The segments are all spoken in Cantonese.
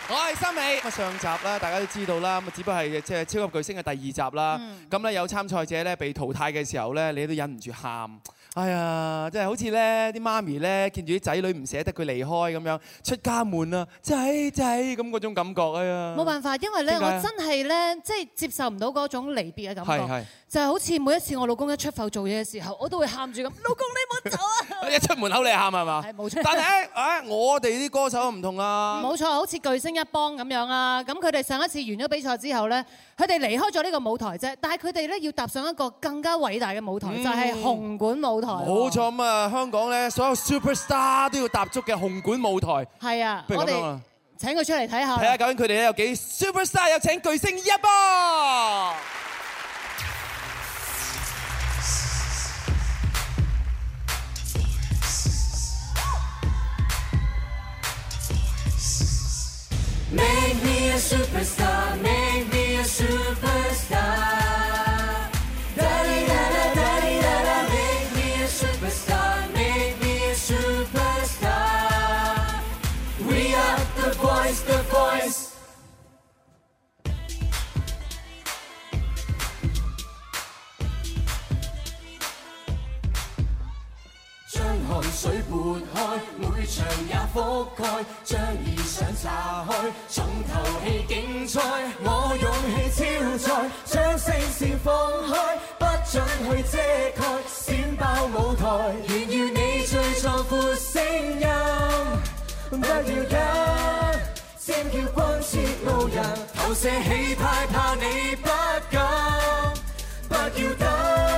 我係森美。上集啦，大家都知道啦，咁只不過係即係超級巨星嘅第2集啦。咁咧有參賽者咧被淘汰嘅時候咧，你都忍唔住喊。哎呀，即係好似咧啲媽咪咧見住啲仔女唔捨得佢離開咁樣，出家門啊，仔咁嗰種感覺啊呀！ 冇辦法，因為咧我真係咧即係接受唔到嗰種離別嘅感覺，就係好似每一次我老公一出埠做嘢嘅時候，我都會喊住咁，老公你唔好走啊！ 一出門口你喊係嘛？ 係冇錯。 但係我哋啲歌手唔同啊。 冇錯，好似巨星一幫咁樣啊！咁佢哋上一次完咗比賽之後咧，佢哋離開咗呢個舞台啫，但係佢哋咧要踏上一個更加偉大嘅舞台，就係紅館舞台。 冇錯咁啊！香港咧所有 superstar 都要踏足嘅紅館舞台。 係啊，我哋請佢出嚟睇下。 睇下究竟佢哋咧有幾 superstar， 有請巨星一幫。 Make me a superstar, make me a superstar. Da-di-da-da-da-di-da-da, make me a superstar, make me a superstar. We are the voice, the voice. 將汗水撥開，每場也覆蓋，將異想炸開，重頭戲競賽，我勇氣超載，將聲線放開，不准去遮蓋，閃爆舞台，炫耀你最壯闊聲音，不要緊，尖叫關切路人，投射氣派怕你不敢，不要等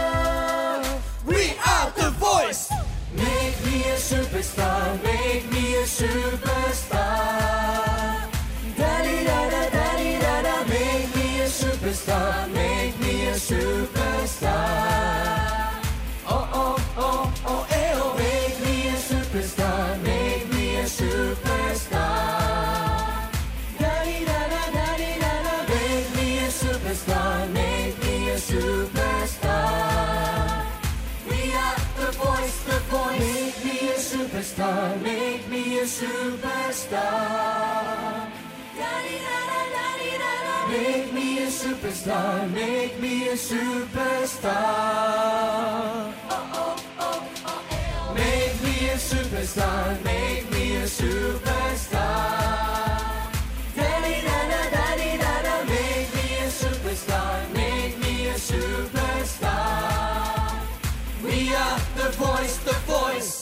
We are the voice。 Make me a superstar, make me a superstar. Da-di-da-da-da-di-da-da, make me a superstar, make me a superstar. Oh, oh, oh, oh, eh, oh. Make me a superstar, make me a superstar. Da-di-da-da-da-di-da-da, make me a superstar, make me a superstar. We are the voice, the voice. Make me a superstar, make me a superstar. Da-di-da-da-da-di-da-da. Make me a superstar, make me a superstar. Oh, oh, oh, oh, oh. Make me a superstar, make me a superstar. Da-di-da-da-da-di-da-da. Make me a superstar, make me a superstar. We are the voice, the voice。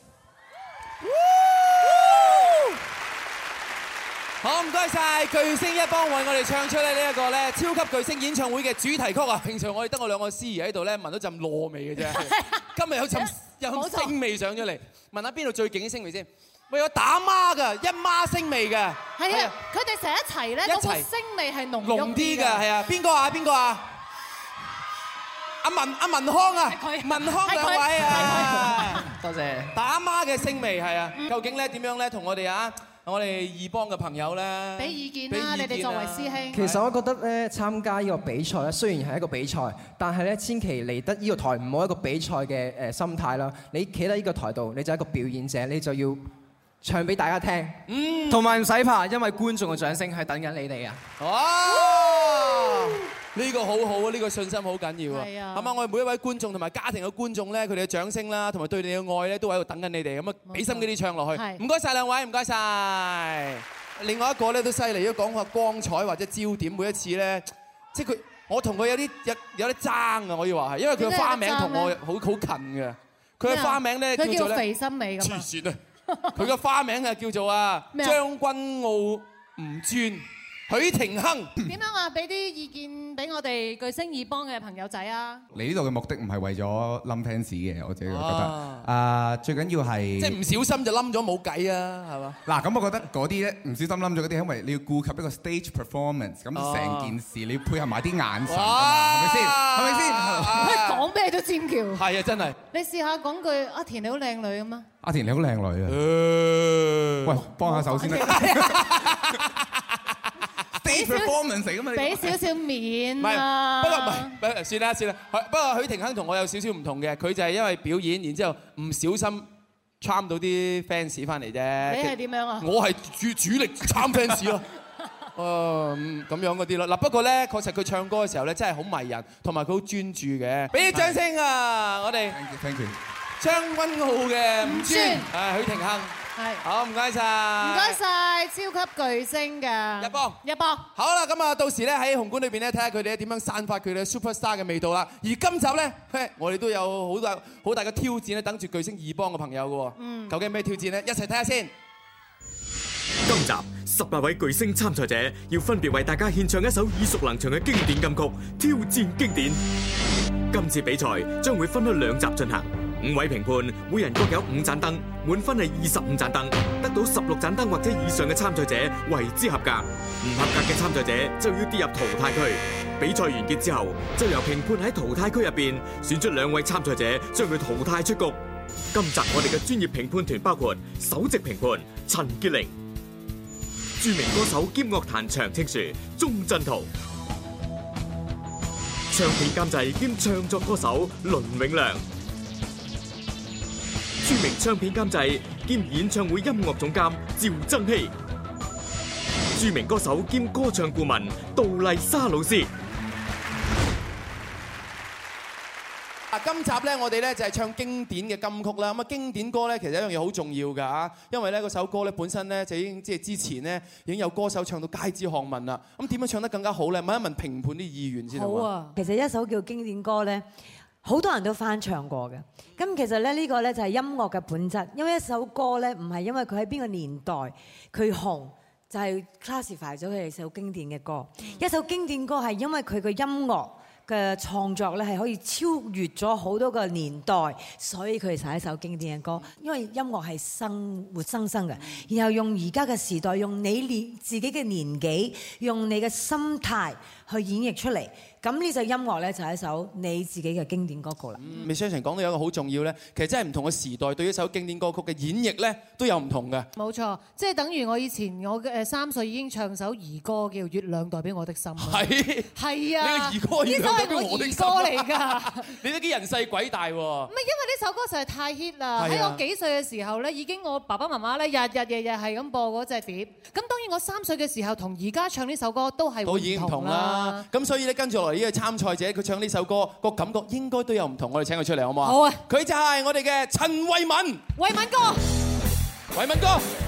好，唔該晒巨星一幫為我哋唱出咧呢一個咧超級巨星演唱會嘅主題曲啊！平常我哋得我2個司儀喺度咧，聞到陣糯味嘅啫。今日有陣星味上咗嚟，問下邊度最勁啲星味先？喂，有打孖㗎，一孖星味嘅。 係啊，佢哋成日一齊咧，嗰個星味係濃啲嘅，係啊。邊個啊？邊個啊？阿文康啊，文康兩位啊， 多謝。 打孖嘅星味係啊，究竟咧點樣咧同我哋二幫嘅朋友咧俾意見啦，你哋作為師兄。 其實我覺得咧，參加呢個比賽咧，雖然係一個比賽，但係咧千祈嚟得呢個台唔好一個比賽嘅心態啦。你企喺呢個台度，你就係一個表演者，你就要唱俾大家聽。 同埋唔使怕，因為觀眾嘅掌聲係等緊你哋啊！ 哇！呢個好好啊！呢個信心好緊要啊！係啊！係嘛？我哋每一位觀眾同埋家庭嘅觀眾咧，佢哋嘅掌聲啦，同埋對你嘅愛咧，都喺度等緊你哋咁啊！俾心機啲唱落去。唔該曬兩位，唔該曬。另外一個咧都犀利，如果講下光彩或者焦點，每一次咧，即係我同佢有啲爭啊！我要話係，因為佢嘅花名同我好近嘅。佢嘅花名咧叫做咧， 肥心美咁。 黐線啊！佢嘅花名啊叫做將軍澳吳尊。許廷鏗點樣啊？俾啲意見俾我哋巨星2幫嘅朋友仔啊！ 嚟呢度嘅目的唔係為咗冧 fans 嘅，我自己覺得。最緊要係即係唔小心就冧咗冇計啊，係嘛？ 嗱，咁我覺得嗰啲咧唔小心冧咗嗰啲，因為你要顧及一個 stage performance，咁成件事你要配合埋啲眼神㗎嘛，係咪先？係咪先？ 佢講咩都尖叫。係啊，真係。 你試下講句阿田你好靚女咁啊！ 阿田你好靚女啊！喂，幫下手先啦。performance 嚟㗎嘛？ 俾少少面啊！不過算啦。不過許廷鏗同我有少少唔同嘅，佢就係因為表演，然之後唔小心參到啲 fans 翻嚟啫。 你係點樣啊？ 我係主力參 fans 咯。咁樣嗰啲咯。嗱，不過咧，確實佢唱歌嘅時候咧，真係好迷人，同埋佢好專注嘅。俾啲掌聲啊！我哋 Thank you。 將軍澳嘅吳尊，許廷鏗。係，好唔該晒， 唔該晒，超級巨星嘅一幫。好啦，咁啊，到時咧喺紅館裏邊咧，睇下佢哋點樣散發佢哋 superstar 嘅味道啦。而今集咧，我哋都有好大嘅挑戰咧，等住巨星二幫嘅朋友嘅喎。究竟咩挑戰咧？一齊睇下先。 今集18位巨星參賽者要分別為大家獻唱一首耳熟能詳嘅經典金曲，挑戰經典。今次比賽將會分開2集進行。5位評判，每人各有5盞燈，滿分係25盞燈，得到16盞燈或者以上嘅參賽者為之合格，唔合格嘅參賽者就要跌入淘汰區。比賽完結之後，就由評判喺淘汰區入邊選出2位參賽者，將佢淘汰出局。今集我哋嘅專業評判團包括首席評判陳潔玲、著名歌手兼樂壇長青樹鐘鎮濤、唱片監製兼唱作歌手倫永亮、著名唱片監製兼演唱會音樂總監趙增熹、著名歌手兼歌唱顧問杜麗莎老師。 今集咧，我哋咧就係唱經典嘅金曲啦。咁啊，經典歌咧，其實一樣嘢好重要㗎，因為咧嗰首歌咧本身咧就已經即係之前咧已經有歌手唱到街知巷聞啦。咁點樣唱得更加好咧？問一問評判啲意願先好啊。 其實一首叫經典歌咧，好多人都翻唱過嘅。咁其實咧呢個咧就係音樂嘅本質，因為一首歌咧唔係因為佢喺邊個年代佢紅，就係 classify 咗佢係首經典嘅歌。一首經典歌係因為佢嘅音樂嘅創作咧係可以超越咗好多個年代，所以佢哋係一首經典嘅歌。因為音樂係活生生嘅，然後用而家嘅時代，用你自己嘅年紀，用你嘅心態去演繹出嚟。咁呢首音樂咧就係一首你自己嘅經典歌曲啦。 未相信講到有一個好重要咧，其實真係唔同嘅時代對一首經典歌曲嘅演繹咧都有唔同嘅。 冇錯，即係等於我以前我嘅3歲已經唱首兒歌叫《月亮代表我的心》。係啊， 你嘅兒歌呢首係我兒歌嚟㗎。 你都幾人細鬼大喎？ 唔係因為呢首歌實在太 hit 啦！喺我幾歲嘅時候咧，已經我爸爸媽媽咧日夜係咁播嗰隻碟。咁當然我3歲嘅時候同而家唱呢首歌都係已經唔同啦。咁所以咧跟住落嚟呢個參賽者佢唱呢首歌個感覺應該都有唔同。我哋請佢出嚟好唔好啊？ 好啊！ 佢就係我哋嘅陳慧敏。 慧敏哥， 慧敏哥。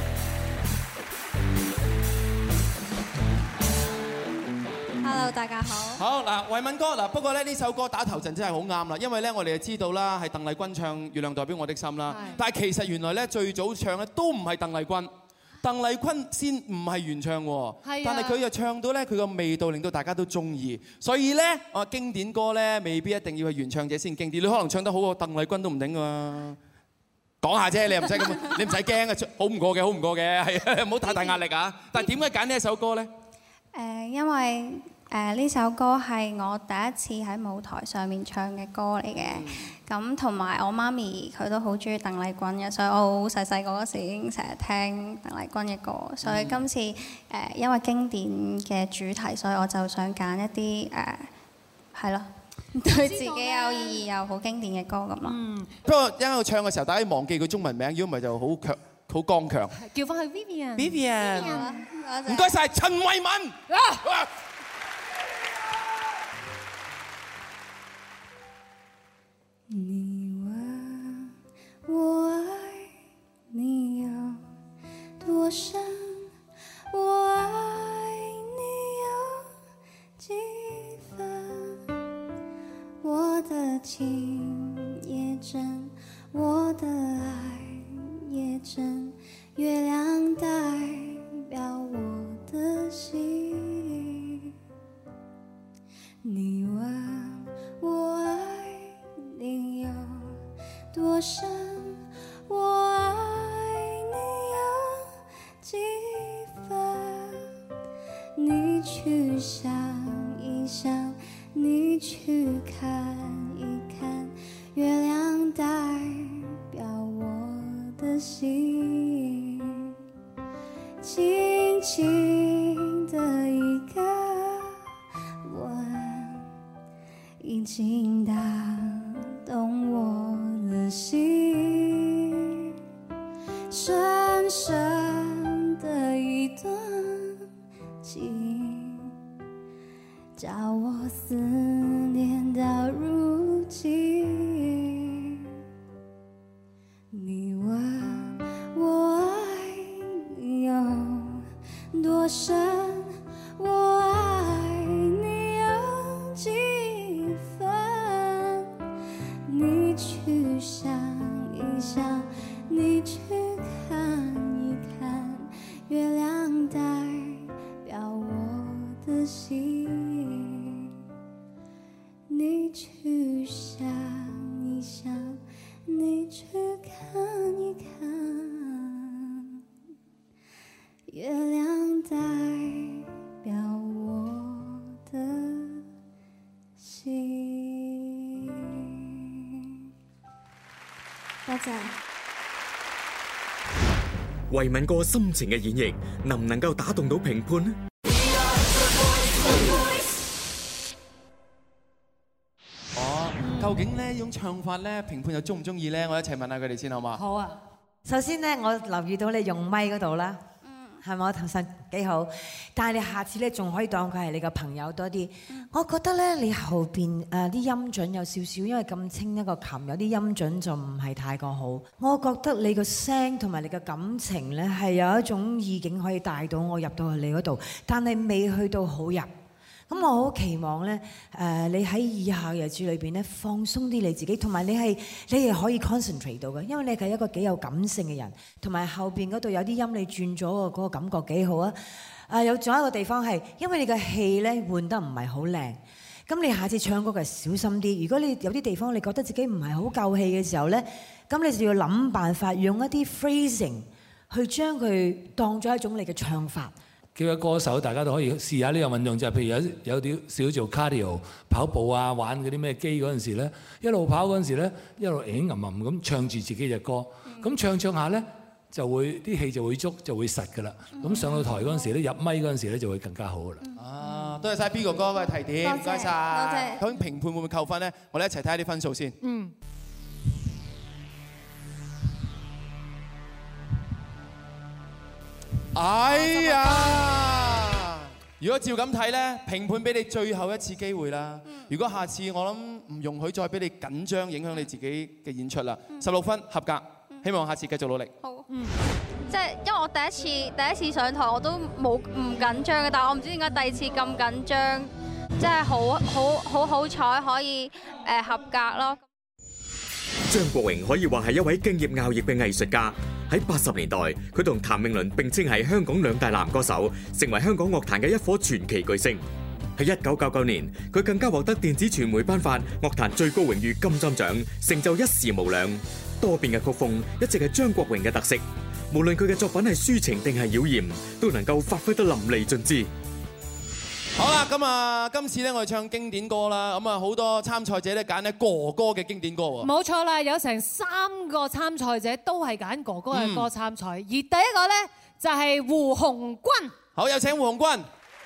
Hello， 大家好。 好嗱，慧敏哥嗱，不過咧呢首歌打頭陣真係好啱啦，因為咧我哋就知道啦，係鄧麗君唱《月亮代表我的心》啦。但係其實原來咧最早唱咧都唔係鄧麗君，鄧麗君先唔係原唱喎。但係佢又唱到咧佢個味道令到大家都中意，所以咧經典歌咧未必一定要係原唱者先經典，你可能唱得好過鄧麗君都唔定㗎。講下啫，你又唔使咁，你唔使驚啊，好唔過嘅，好唔過嘅，係唔好太大壓力啊。但係點解揀呢一首歌咧？ 因為呢首歌係我第一次喺舞台上面唱嘅歌嚟嘅，咁同埋我媽咪佢都好中意鄧麗君嘅，所以我好細細個嗰時已經成日聽鄧麗君嘅歌，所以今次因為經典嘅主題，所以我就想揀一啲係咯，對自己有意義又好經典嘅歌咁咯。 不過因為我唱嘅時候，大家忘記佢中文名，如果唔係就好強、好剛強。 叫翻去 Vivian。 Vivian，唔該晒陳慧敏。 你問我愛你有多深，我愛你有幾分，我的情也真，我的愛也真，月亮代表我的心。你問我愛你有多深，我愛你有幾分，你去想一想，你去看一看，月亮代表我的心，輕輕的一個吻已經打動我的心。 叫我思念到如今。你问我爱你有多深，我爱你有几分，你去想一想，你去看一看，月亮代表我的心，你去想一想，你去看一看，月亮代表我的心。多謝。 維敏哥深情嘅演繹，能唔能夠打動到評判呢？ 究竟呢種唱法咧，評判又中唔中意咧？我一齊問下佢哋先好嘛？ 好啊！首先咧，我留意到你用咪嗰度啦，係咪？我頭先幾好，但係你下次咧仲可以當佢係你個朋友多啲。我覺得咧，你後邊啲音準有少少，因為咁清一個琴，有啲音準就唔係太過好。我覺得你個聲同埋你嘅感情咧，係有一種意境可以帶到我入到去你嗰度，但係未去到好入。咁我好期望咧，你喺以下嘅日子裏邊咧，放鬆啲你自己，同埋你係可以 concentrate 到嘅，因為你係一個幾有感性嘅人，同埋後邊嗰度有啲音你轉咗嗰個感覺幾好啊！仲有一個地方係，因為你嘅氣咧換得唔係好靚，咁你下次唱歌嘅小心啲。如果你有啲地方你覺得自己唔係好夠氣嘅時候咧，咁你就要諗辦法用一啲 phrasing 去將佢當咗一種你嘅唱法。 叫個歌手，大家都可以試下呢個運動，就係譬如有啲少做 cardio 跑步啊，玩嗰啲咩機嗰陣時咧，一路跑嗰陣時咧，一路吟吟咁唱住自己隻歌，咁唱下咧就會啲氣就會足，就會實㗎啦。咁上到台嗰陣時咧，入咪嗰陣時咧就會更加好㗎啦。 啊，多謝晒 B 哥哥嘅提點，唔該晒。究竟評判會唔會扣分咧？我哋一齊睇下啲分數先。哎呀！如果照咁睇咧，評判俾你最後一次機會啦。如果下次我諗唔容許再俾你緊張，影響你自己嘅演出啦。16分合格，希望下次繼續努力。 好。即係因為我第一次上台我都唔緊張嘅，但係我唔知點解第二次咁緊張，即係好彩可以合格咯。 張國榮可以話係一位敬業熬業嘅藝術家。喺80年代，佢同譚詠麟並稱係香港兩大男歌手，成為香港樂壇嘅一顆傳奇巨星。喺1999年，佢更加獲得電子傳媒頒發樂壇最高榮譽金針獎，成就一時無兩。多變嘅曲風一直係張國榮嘅特色，無論佢嘅作品係抒情定係妖豔，都能夠發揮得淋漓盡致。 好啦，咁今次咧我哋唱經典歌啦，咁好多參賽者咧揀咧哥哥嘅經典歌喎。 冇錯啦，有成3個參賽者都係揀哥哥嘅歌參賽，而第一個咧就係胡鴻鈞。 好，有請胡鴻鈞。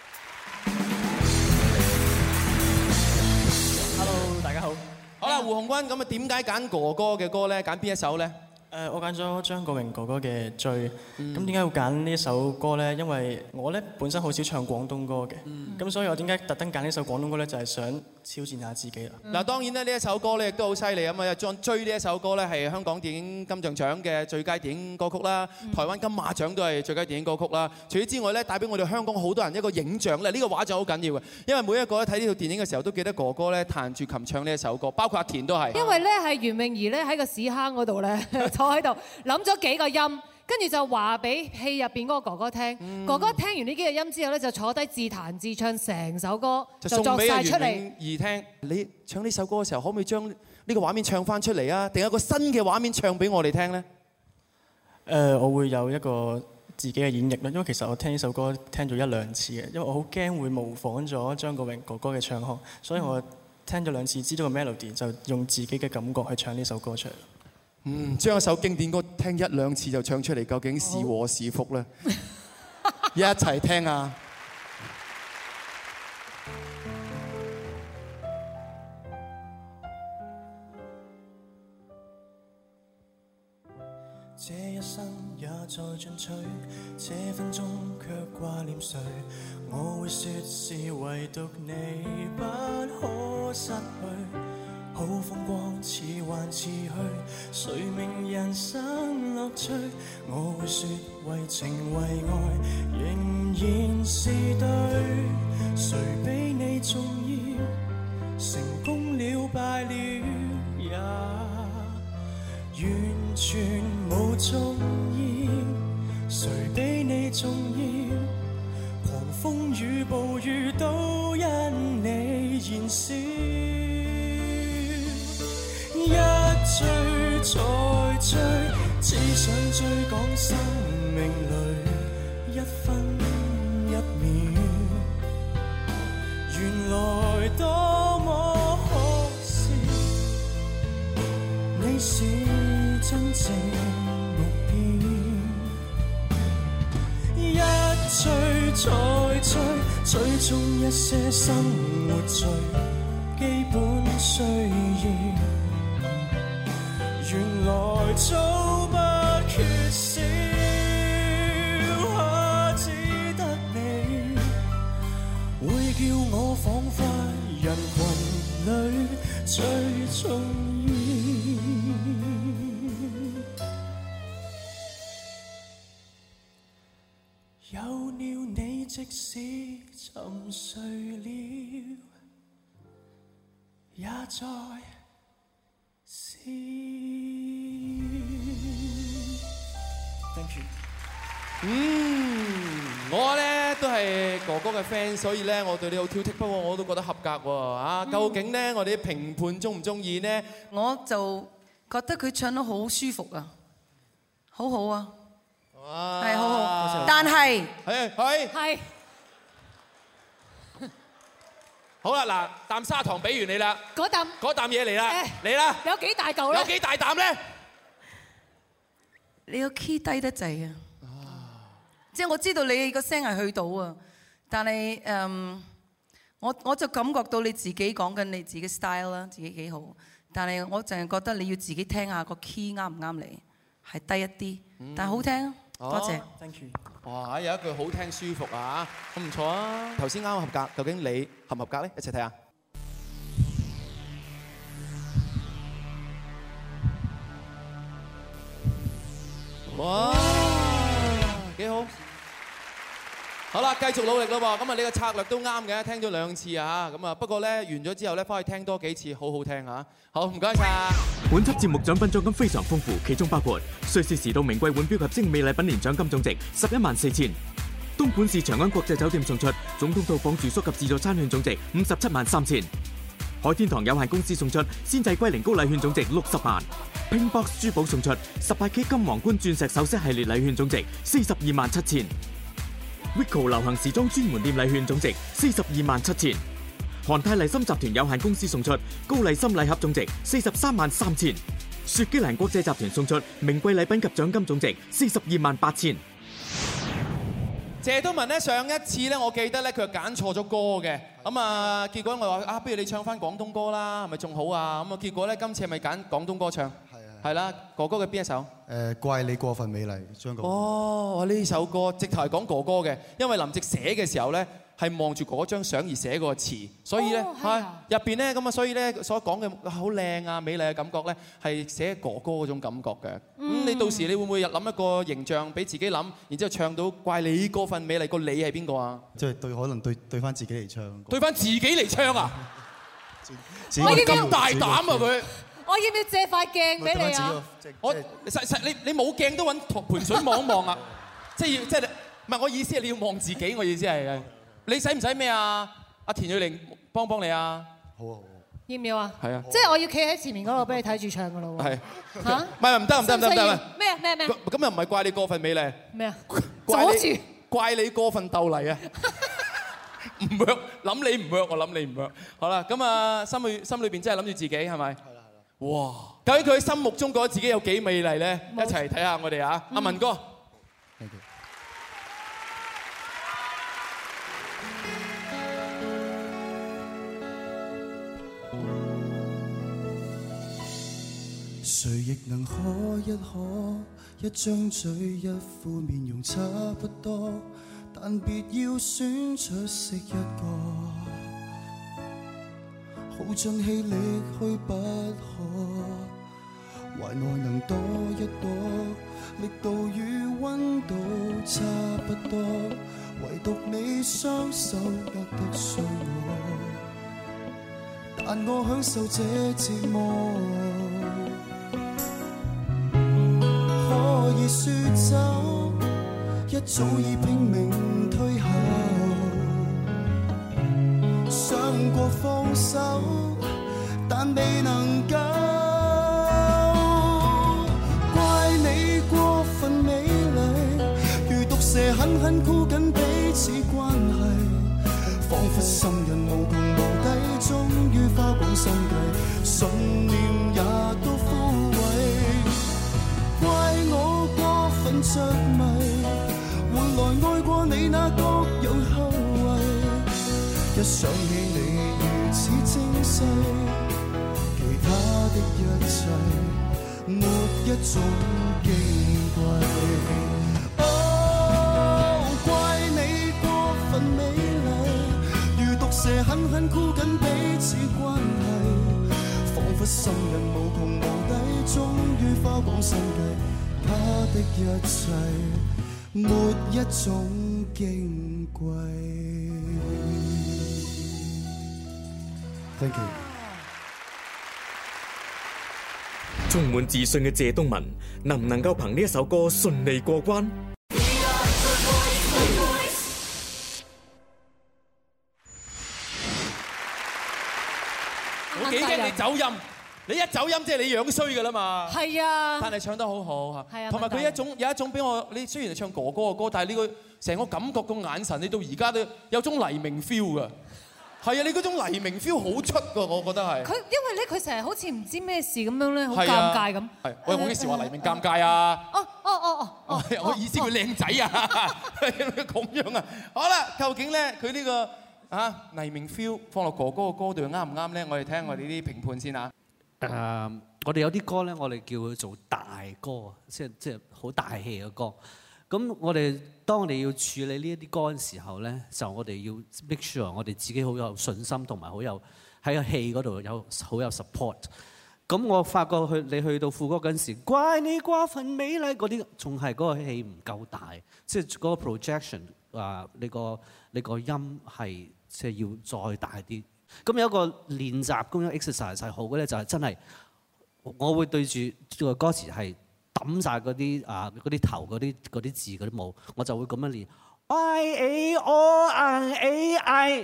Hello， 大家好。 好啦，胡鴻鈞，咁點解揀哥哥嘅歌咧？揀邊一首咧？ 我揀咗張國榮哥哥嘅《追》，咁點解會揀呢首歌呢？因為我咧本身好少唱廣東歌嘅，咁所以我點解特登揀呢首廣東歌呢？就係想挑戰下自己啦。 嗱，當然咧呢一首歌咧亦都好犀利啊嘛！《追》呢一首歌咧係香港電影金像獎嘅最佳電影歌曲啦，台灣金馬獎都係最佳電影歌曲啦。除此之外咧，帶俾我哋香港好多人一個影像咧，呢個畫像好緊要嘅，因為每一個咧睇呢套電影嘅時候都記得哥哥咧彈住琴唱呢一首歌，包括阿田都係。 因為咧係袁詠儀咧喺個屎坑嗰度咧坐喺度諗咗幾個音，跟住就話俾戲入邊嗰個哥哥聽。哥哥聽完呢幾個音之後咧，就坐低自彈自唱成首歌，就作晒出嚟。袁詠儀聽， 你唱呢首歌嘅時候，可唔可以將呢個畫面唱翻出嚟啊？定有個新嘅畫面唱俾我哋聽呢？ 我會有一個自己嘅演繹啦，因為其實我聽呢首歌聽咗1-2次嘅，因為我好驚會模仿咗張國榮哥哥嘅唱腔，所以我聽咗2次，知道個 melody 就用自己嘅感覺去唱呢首歌出嚟。 將一首經典歌聽1-2次就唱出嚟，究竟是禍是福呢？一齊聽啊！ 這一生也在進取，這分鐘卻掛念誰？我會說是唯獨你不可失去。好風光似幻似虛，誰明人生樂趣？我會說為情為愛仍然是對，誰比你重要？成功了敗了也完全無重要，誰比你重要？狂風與暴雨都因你燃燒，一追再追，只想追趕生命裏一分一秒，原來多麼可笑，你是真正目標，一追再追，追蹤一些生活最基本需要，原來早不缺少，只得你會叫我彷彿人群裏最重要。有了你，即使沉睡了，也在笑。Thank you。 我咧都係哥哥嘅 fans，所以咧我對你好挑剔，不過我都覺得合格喎。啊，究竟咧我哋啲評判中唔中意呢？ 我就覺得佢唱得好舒服啊，好好啊。係好好，但係係好啦，嗱，啖砂糖俾完你啦，嗰啖嘢嚟啦，嚟啦， 有幾大嚿咧？ 有幾大啖咧？ 你個 key 低得滯啊！即係我知道你個聲係去到啊，但係我就感覺到你自己講緊你自己 style 啦，自己幾好，但係我淨係覺得你要自己聽下個 key 啱唔啱你，係低一啲，但係好聽。多謝 ，thank you。哇，有一句好聽舒服啊，咁唔錯啊。頭先啱合格，究竟你合唔合格咧？一齊睇下。哇，幾好。好啦，繼續努力咯喎。咁啊，你個策略都啱嘅，聽咗2次啊。咁啊，不過咧完咗之後咧，翻去聽多幾次，好好聽啊。好，唔該晒。 本輯節目獎品獎金非常豐富，其中包括瑞士時度名貴腕錶及精美禮品年獎金總值114000；東莞市長安國際酒店送出總統套房住宿及自助餐券總值573000；海天堂有限公司送出鮮製龜苓膏禮券總值60萬；Pinkbox 珠寶送出18K 金皇冠鑽石首飾系列禮券總值427000；Wico 流行時裝專門店禮券總值427000；韓泰麗參集團有限公司送出高麗參禮盒總值433000；雪肌蘭國際集團送出名貴禮品及獎金總值428000。 謝東閔咧上一次咧，我記得咧佢揀錯咗歌嘅，咁啊結果我話啊，不如你唱翻廣東歌啦，係咪仲好啊？咁啊結果咧今次係咪揀廣東歌唱？係啦，哥哥嘅邊一首？ 怪你過分美麗，張國榮。 哦，呢首歌直頭係講哥哥嘅，因為林夕寫嘅時候咧係望住嗰張相而寫個詞，所以咧入邊咧咁啊，所以咧所講嘅好靚啊、美麗嘅感覺咧係寫哥哥嗰種感覺嘅。咁你到時你會唔會諗一個形象俾自己諗，然之後唱到怪你過分美麗，個你係邊個啊？ 即係可能對翻自己嚟唱。 對翻自己嚟唱啊！我咁大膽啊佢！ 我要唔要借塊鏡俾你啊？ 我你冇鏡都揾盆水望一望啊！即係唔係我意思係你要望自己，我意思係你使唔使咩啊？阿田蕊玲幫你啊！好啊好啊！ 要唔要啊？ 係啊！ 即係我要企喺前面嗰度俾你睇住唱噶咯喎！係嚇？唔得！ 咩？ 咁又唔係怪你過分美麗咩啊？ 怪你過分鬥麗啊！唔 work， 諗你唔 work， 我諗你唔 work。好啦，咁啊心裏邊真係諗住自己係咪？哇！究竟佢喺心目中覺得自己有幾美麗咧？一齊睇下我哋啊！阿文哥， 誰亦能可一可，一張嘴一副面容差不多，但別要選出色一個，耗盡氣力去不可，懷內能多一朵，力度與溫度差不多，唯獨你雙手握得碎我，但我享受這折磨。可以說走，一早已拼命退後，想過放手，但未能夠。怪你過分美麗，如毒蛇狠狠箍緊彼此關係，彷彿心人無窮無底，終於花光心計，信念也都枯萎。怪我過分着迷，換來愛過你那各樣後遺。一想起你如此精細，其他的一切沒一種矜貴。哦，怪你過分美麗，如毒蛇狠狠箍緊彼此關係，彷彿心人無窮無底，終於花光心計。他的一切沒一種矜貴。Thank you。 充滿自信嘅謝東閔，能唔能夠憑呢一首歌順利過關？ 我幾驚你走音。你一走音即係你樣衰㗎啦嘛， 係啊， 但係唱得好好嚇， 係啊， 同埋佢有一種俾我，你雖然係唱哥哥嘅歌，但係呢個成個感覺個眼神，你到而家都有種黎明 feel 㗎，係啊，你嗰種黎明 feel 好出㗎，我覺得係。佢因為咧，佢成日好似唔知咩事咁樣咧，好尷尬咁。 係，喂，我幾時話黎明尷尬啊？ 哦， 我意思佢靚仔啊，咁樣啊。好啦，究竟咧佢呢個黎明 feel 放落哥哥嘅歌度啱唔啱咧？我哋聽下我哋啲評判先啊。 我哋有啲歌咧，我哋叫佢做大歌，即係好大氣嘅歌。咁當我哋要處理呢一啲歌嘅時候咧，就我哋要 make sure 我哋自己好有信心，同埋好有喺個戲嗰度好有 support。咁我發覺你去到副歌嗰陣時，怪你過分美麗嗰啲，仲係嗰個戲唔夠大，即係嗰個 projection 你個音係即係要再大啲。咁有一個練習咁樣 exercise 係好嘅咧，就係真係我會對住個歌詞係揼晒嗰啲頭嗰啲字嗰啲母，我就會咁樣練 I A O N A I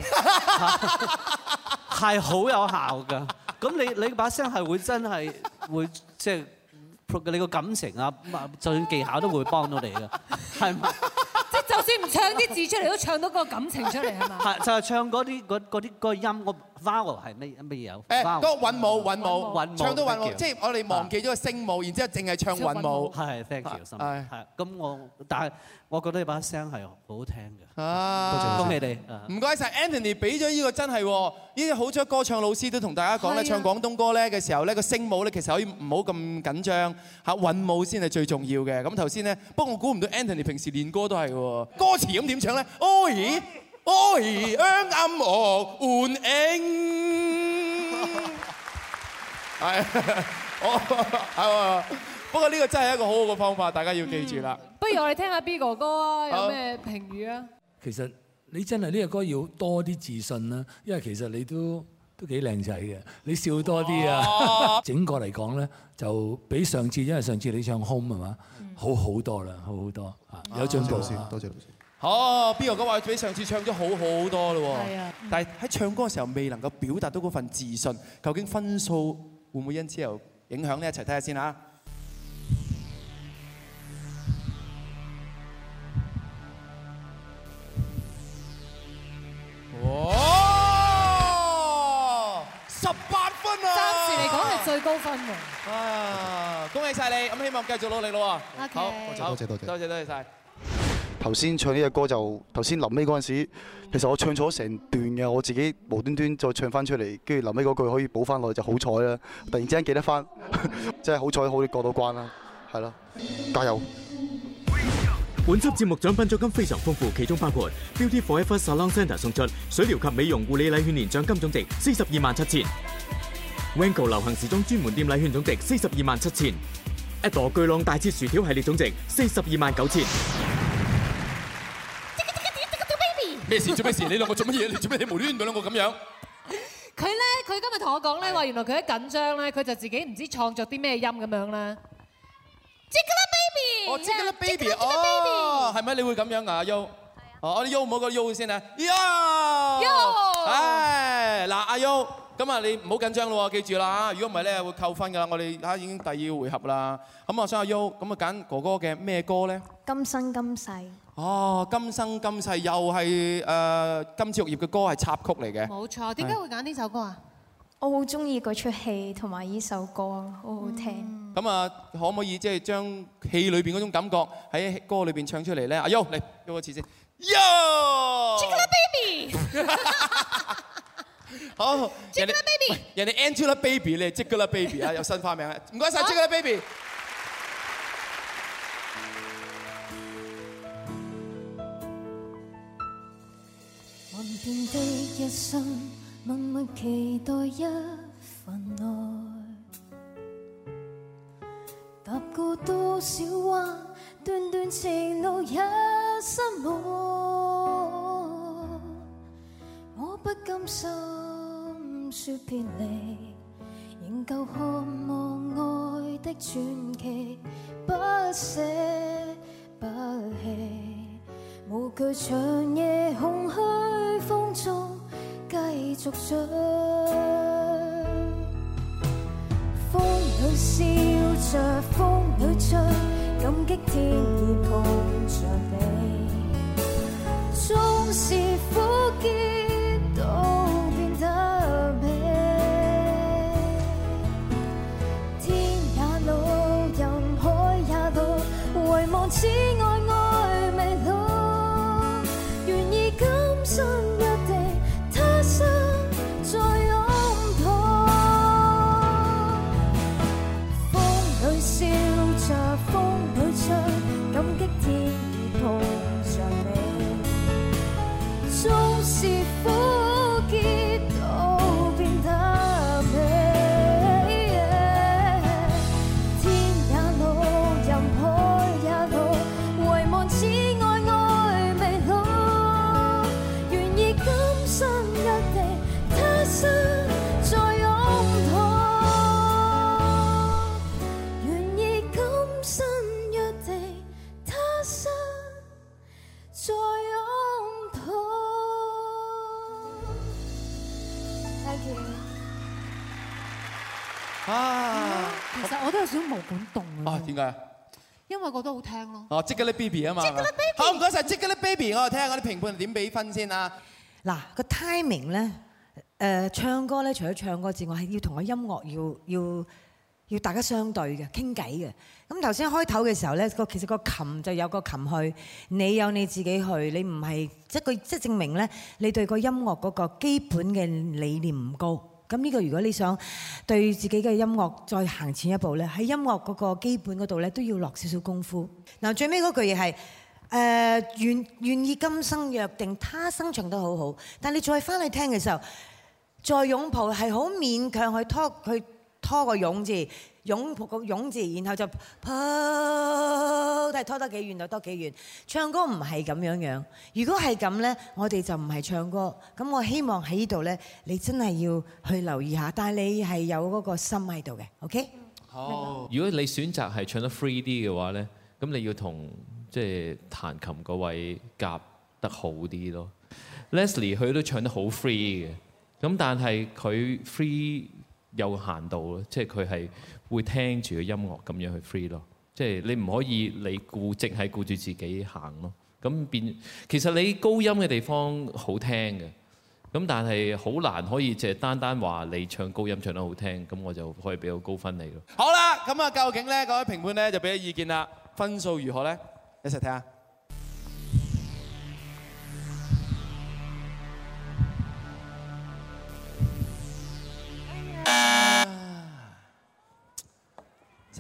係好有效㗎。咁你把聲係會真係會即係你個感情啊，就算技巧都會幫到你㗎，係咪？ 即係就算唔唱啲字出嚟，都唱到個感情出嚟係嘛？ 係就係唱嗰啲個音個 vowel 係乜嘢有？ 嗰個韻母，唱到韻母，即係我哋忘記咗個聲母，然之後淨係唱韻母。 係 thank you，係咁但係我覺得你把聲係好好聽嘅。恭喜你！ 唔該晒 Anthony 俾咗呢個真係喎，呢啲好多歌唱老師都同大家講咧，唱廣東歌咧嘅時候咧，個聲母咧其實可以唔好咁緊張嚇，韻母先係最重要嘅。咁頭先咧，不過我估唔到 Anthony 平時練歌都係喎，歌詞咁點唱咧？Oi，啱樂換影，係，不過呢個真係一個好好嘅方法，大家要記住啦。 不如我哋聽下 B 哥哥啊，有咩評語啊？ 其實你真係呢個歌要多啲自信啦，因為其實你都幾靚仔嘅，你笑多啲啊！整個嚟講咧，就比上次，因為上次你唱 Home 係嘛，好好多啦，好好多啊，有進步先。 多謝老師。 好 ，B 哥哥話比上次唱咗好好多咯喎。 係啊。 但係喺唱歌嘅時候未能夠表達到嗰份自信，究竟分數會唔會因此又影響呢？一齊睇下先嚇。哇！18分啊！ 暫時嚟講係最高分喎。 恭喜晒你！咁希望繼續努力咯喎。 好， 多謝晒。 頭先唱呢隻歌就頭先臨尾嗰陣時，其實我唱錯成段嘅，我自己無端端再唱翻出嚟，跟住臨尾嗰句可以補翻落去就好彩啦！突然之間記得翻，真係好彩可以過到關啦，係咯，加油！ 本輯節目獎品獎金非常豐富，其中包括 Beauty Forever Salon Centre 送出水療及美容護理禮券年獎金總值427000；Wango 流行時裝專門店禮券總值427000；一朵巨浪大切薯條系列總值429000。 咩事？做咩事？你兩個做乜嘢？你做咩？你無端端兩個咁樣？ 佢今日同我講咧話，原來佢一緊張咧，佢就自己唔知創作啲咩音咁樣啦。 哦 Jiggly Baby， 哦，係咪你會咁樣啊？阿 Yo， 哦，我哋 Yo 唔好個 Yo 先啊 ，Yo， 唉，嗱，阿 Yo，咁啊你唔好緊張咯喎，記住啦，如果唔係咧會扣分噶啦，我哋已經第2回合啦。咁我想阿 Yo，咁啊揀哥哥嘅咩歌咧？ 今生今世。 哦，今生今世又係金枝玉葉嘅歌，係插曲嚟嘅。 冇錯，點解會揀呢首歌啊？ 我好中意嗰出戲同埋呢首歌，好好聽。 咁啊，可唔可以即係將戲裏邊嗰種感覺喺歌裏邊唱出嚟咧？阿 Yo 嚟，喐一次先。 Yo，Jiggly Baby。 好，人哋 Angelababy 你係 Jiggly Baby 啊，有新花名啊！唔該曬 Jiggly Baby。 幻變的一生，默默期待一份愛，踏過多少彎，段段情路也失望，我不甘心說別離，仍舊渴望愛的傳奇，不捨不棄，無懼長夜空虛風中繼續追，風裏笑着風裏吹，感激天意抱着你，縱是苦澀都變得美，天也老人海也老，遺忘此愛愛未老，願意今生約定他生再擁抱，風裏笑着風裏吹，感激天意抱着你，縱是苦澀都變得美，天也老人海也老，遺忘此愛愛未老，願意今生約定他生再擁抱，願意今生約定他生再擁抱。Thank you。 啊， 其實我都有少少毛管動啊。 啊，點解啊？ 因為覺得好聽咯。 哦 Jiggly Baby 啊嘛。好，唔該曬 Jiggly Baby， 我哋聽下嗰啲評判點俾分先啊。 嗱，個 timing 咧，唱歌咧，除咗唱歌之外，係要同個音樂要大家相對嘅，傾偈嘅。咁頭先開頭嘅時候咧，其實個琴就有個琴去，你有你自己去，你唔係即係證明咧，你對個音樂嗰個基本嘅理念唔高。咁呢個如果你想對自己嘅音樂再行前一步咧，喺音樂嗰個基本嗰度咧都要落少少功夫。嗱，最尾嗰句嘢係願意今生約定他生，唱得好好，但你再翻去聽嘅時候，再擁抱係好勉強去拖個擁字，擁抱個擁字，然後就睇拖得幾遠就多幾遠。唱歌唔係咁樣，如果係咁呢，我哋就唔係唱歌。咁我希望喺呢度呢，你真係要去留意下，但係你係有嗰個心喺度嘅 ，OK？ 好。如果你選擇係唱得 free 啲嘅話呢，咁你要同即係彈琴嗰位夾得好啲咯。Leslie 佢都唱得好 free 嘅，咁但係佢 free 有限度咯，即係佢係會聽住個音樂咁樣去 free 咯。即係你唔可以你淨係顧住自己行咯。咁變其實你高音嘅地方好聽嘅，咁但係好難可以淨係單話你唱高音唱得好聽，咁我就可以俾個高分你咯。 好啦，咁啊究竟咧各位評判咧就俾咗意見啦，分數如何咧？一齊睇下。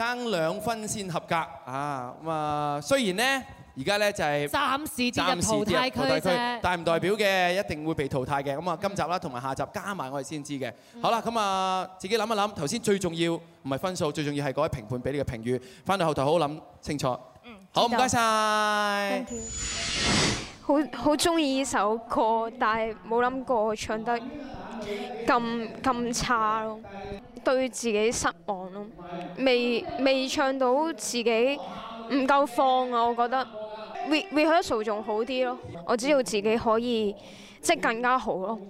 爭2分先合格啊！咁啊，雖然咧而家咧就係暫時跌入淘汰區啫， 但唔代表嘅一定會被淘汰嘅。咁啊，今集啦同埋下集加埋我哋先知嘅。好啦，咁啊自己諗一諗，頭先最重要唔係分數，最重要係嗰位評判俾你嘅評語。翻到後台好好諗清楚。好，唔該晒。 好中意呢首歌，但係冇諗過唱得咁差咯，對自己失望咯，未唱到自己唔夠放啊！我覺得 rehearsal 仲好啲咯，我知道自己可以即係更加好咯。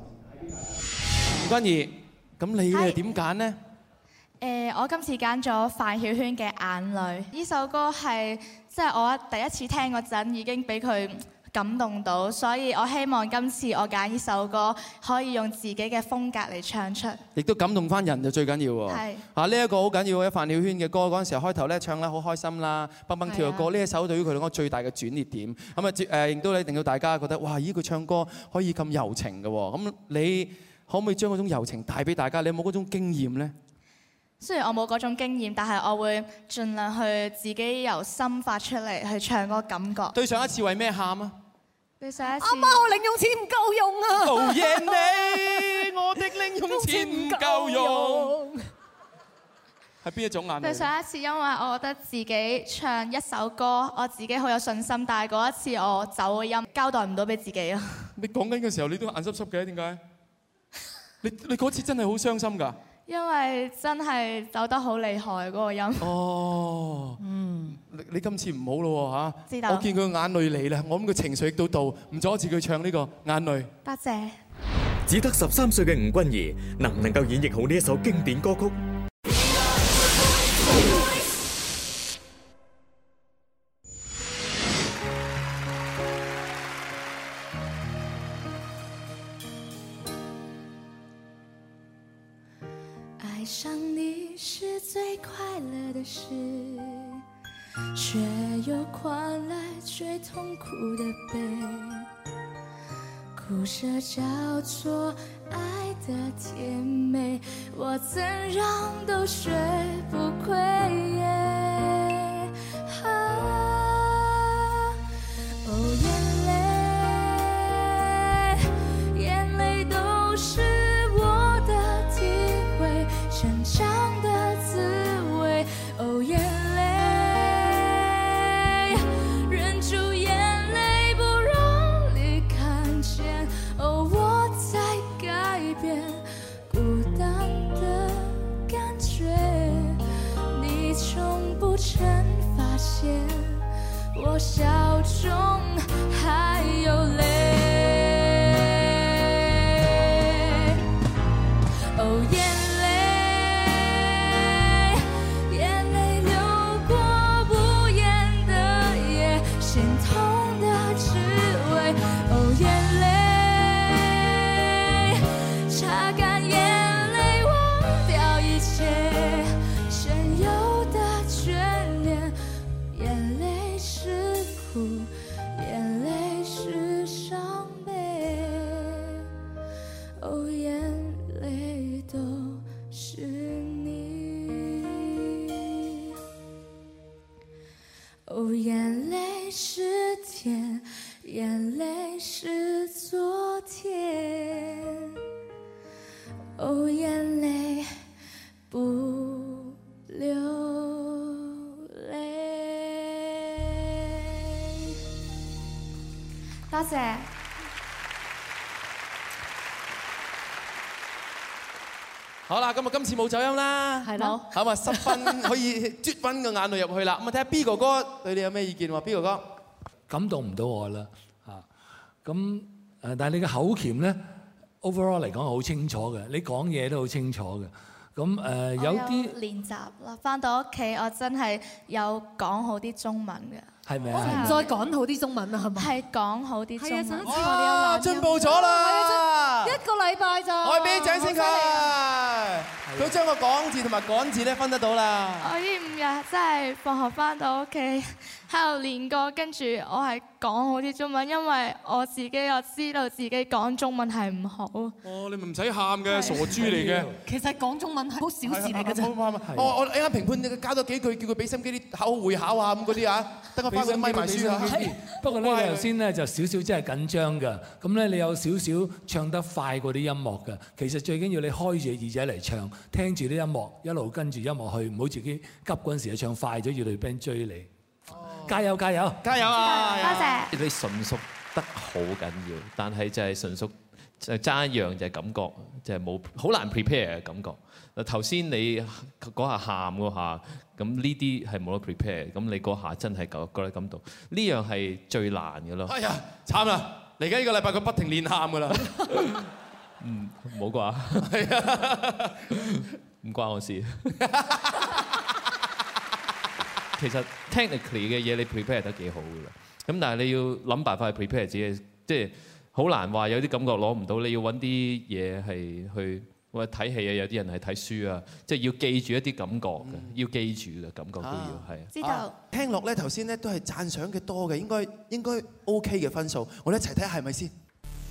吳君怡，咁你係點揀呢？ 我今次揀咗范曉萱嘅《眼淚》，呢首歌係即係我第一次聽嗰陣已經俾佢感動到，所以我希望今次我揀呢首歌可以用自己嘅風格嚟唱出，亦都感動翻人就最緊要喎。係啊，呢一個好緊要嘅范曉萱嘅歌嗰陣時候開頭咧唱咧好開心啦，蹦蹦跳嘅歌，呢一首對於佢嚟講最大嘅轉捩點。咁啊亦都令到大家覺得哇！咦，佢唱歌可以咁柔情嘅喎。咁你可唔可以將嗰種柔情帶俾大家？你有冇嗰種經驗咧？ 雖然我冇嗰種經驗，但係我會盡量去自己由心發出嚟去唱嗰個感覺。對上一次為咩喊啊？對上一次， 阿媽，我零用錢唔夠用啊！ 討厭你，我的零用錢唔夠用。係邊一種眼淚？ 對上一次，因為我覺得自己唱一首歌，我自己好有信心，但係嗰一次我走音，交代唔到俾自己啊。你講緊嘅時候，你都眼濕濕嘅，點解？你嗰次真係好傷心㗎？因為真係走得好厲害嗰個音。哦，你今次唔好咯嚇，知道。我見佢眼淚嚟啦，我諗佢情緒亦都到，唔阻止佢唱呢個眼淚。多謝。 只得13歲嘅吳君怡，能唔能夠演繹好呢一首經典歌曲？ 爱上你是最快乐的事，却又换来最痛苦的悲。苦涩叫做爱的甜美，我怎样都学不会。哦，眼泪都是我的体会，成长的滋味。哦，眼泪，忍住眼泪不让你看见。哦，我在改变孤单的感觉，你从不曾发现我笑中还有泪。哦，眼泪流过无言的夜，心痛的滋味。哦，眼泪，擦干眼泪，忘掉一切曾有的眷恋。眼泪是苦，眼泪是伤悲。哦，眼泪都是你。哦，眼泪是甜，眼泪是昨天。哦，眼泪不流泪。多謝。 好啦，咁啊今次冇走音啦，係咯，咁啊10分可以啜翻個眼淚入去啦。咁啊睇下 B 哥哥對你有咩意見喎 ？B 哥哥感動唔到我啦嚇，咁但係你嘅口鉗咧 overall 嚟講係好清楚嘅，你講嘢都好清楚嘅。咁有啲練習啦，翻到屋企我真係有講好啲中文嘅。 係咪啊？ 再講好啲中文啊，係咪？ 係講好啲中文。 哇，進步咗啦！ 一個禮拜咋？ 我俾啲掌聲佢，佢將個講字同埋趕字咧分得到啦。 我呢5日真係放學翻到屋企喺度練歌，跟住我係講好啲中文，因為我自己又知道自己講中文係唔好。 哦，你咪唔使喊嘅，傻豬嚟嘅。 其實講中文係好小事嚟嘅啫。 我啱啱評判你加多幾句，叫佢俾心機啲考會考啊咁嗰啲啊，等我翻去咪埋書啊。 不過咧，你頭先咧就少少真係緊張㗎。咁咧，你有少少唱得快過啲音樂㗎。其實最緊要你開住耳仔嚟唱，聽住啲音樂，一路跟住音樂去，唔好自己急嗰陣時就唱快咗，要隊 band 追你。加油加油加油啊！ 多謝。 你純熟得好緊要，但係就係純熟就爭一樣就係感覺，就係冇好難 prepare 嘅感覺。嗱頭先你嗰下喊嗰下，咁呢啲係冇得 prepare，咁你嗰下真係覺得感動，呢樣係最難嘅咯。 哎呀，慘啦！嚟緊呢個禮拜佢不停練喊㗎啦。 冇啩？係啊，唔關我事。其實 technically 嘅嘢你 prepare 得幾好㗎啦，咁但係你要諗辦法去 prepare 自己，即係好難話有啲感覺攞唔到，你要揾啲嘢係去或者睇戲啊，有啲人係睇書啊，即係要記住一啲感覺嘅，要記住嘅感覺都要係。 知道。 聽落咧頭先咧都係讚賞嘅多嘅，應該 OK 嘅分數，我哋一齊睇下係咪先。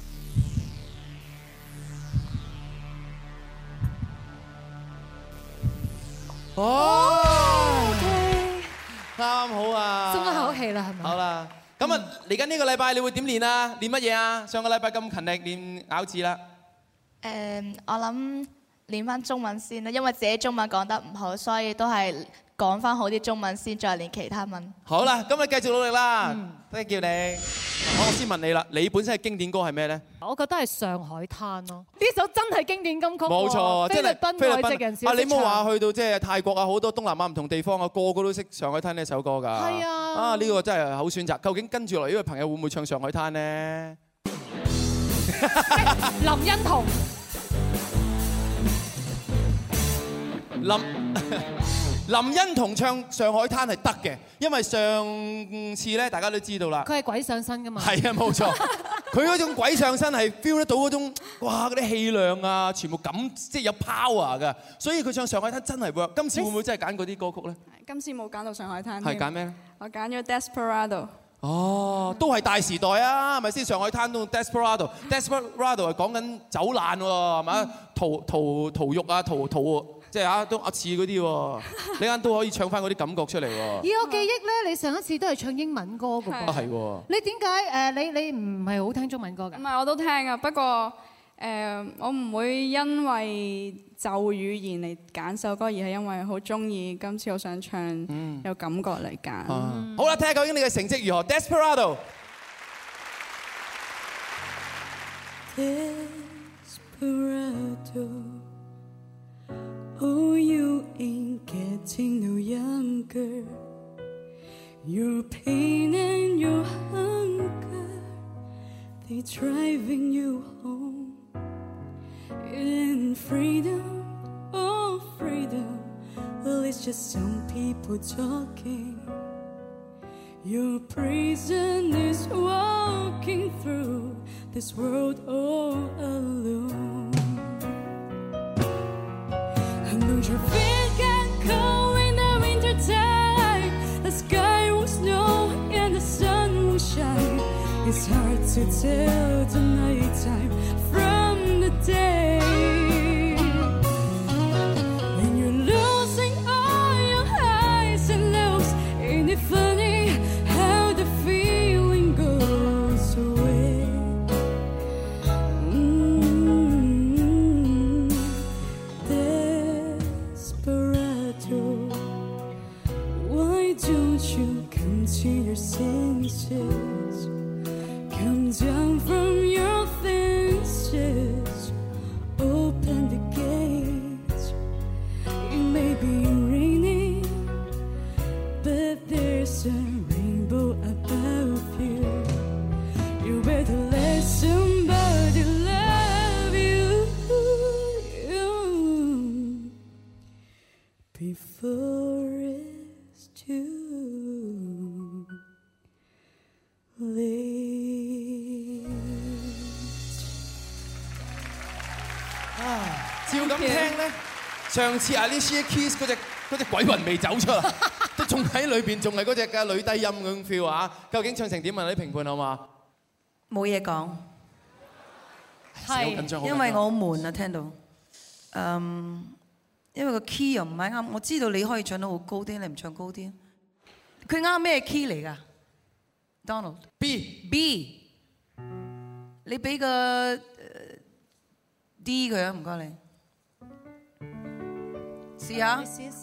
哦。啱好啊！ 鬆一口氣啦，係咪？ 好啦，咁啊嚟緊呢個禮拜你會點練啊？練乜嘢啊？上個禮拜咁勤力練咬字啦。 我諗練翻中文先啦，因為自己中文講得唔好，所以都係講翻好啲中文先，再練其他文。 好啦，咁你繼續努力啦，多謝叫你。我先問你啦，你本身嘅經典歌係咩咧？ 我覺得係《上海灘》咯，呢首真係經典金曲。 冇錯， 菲律賓外籍人士都識唱。 你冇話去到即係泰國啊，好多東南亞唔同地方啊，個個都識《上海灘》呢首歌㗎。係啊。啊，呢個真係好選擇。究竟跟住落嚟呢位朋友會唔會唱《上海灘》呢？ 林欣彤。 林欣彤唱《上海灘》係得嘅，因為上次咧大家都知道啦。 佢係鬼上身㗎嘛？ 係啊，冇錯。佢嗰種鬼上身係 feel 得到嗰種，哇嗰啲氣量啊，全部即係有 power 㗎。所以佢唱《上海灘》真係 work。今次會唔會真係揀嗰啲歌曲咧？ 今次冇揀到《上海灘》。 係揀咩咧？ 我揀咗 Desperado。 哦，都係大時代啊，係咪先？上海灘都 Desperado 係講緊走難喎，係咪？逃獄啊，即係啊，都似嗰啲喎，你間都可以唱翻嗰啲感覺出嚟喎。 以我記憶咧，你上一次都係唱英文歌㗎噃。 係喎。 你點解你唔係好聽中文歌㗎？ 唔係，我都聽啊，不過我唔會因為就語言嚟揀首歌，而係因為好中意，今次我想唱有感覺嚟揀。 好啦，睇下究竟你嘅成績如何 ？Desperado。 Oh, you ain't getting no younger. Your pain and your hunger, they driving you home. And freedom, oh freedom, well it's just some people talking. Your prison is walking through this world all alone. Don't your feet get cold in the winter time? The sky will snow and the sun will shine. It's hard to tell the nighttime from the day. When you're losing all your highs and lows, ain't it funny how the feeling goes away? Why don't you come to your senses? Come down from your fences. Open the gates. It may be raining, but there's a rainbow above you. You better let somebody love you before it's too late. 照咁聽咧， 上次Alicia Keys 嗰隻鬼魂未走出嚟，都仲喺裏邊，仲係嗰隻嘅女低音咁 feel 啊！究竟唱成點啊？啲評判好嘛？ 冇嘢講， 係緊張， 因為我好悶啊，聽到。因為個 key 又唔係啱，我知道你可以唱得好高啲，你唔唱高啲。佢啱咩 key 嚟㗎 ？Donald B， 你俾個 D 佢啊，唔該你。試下。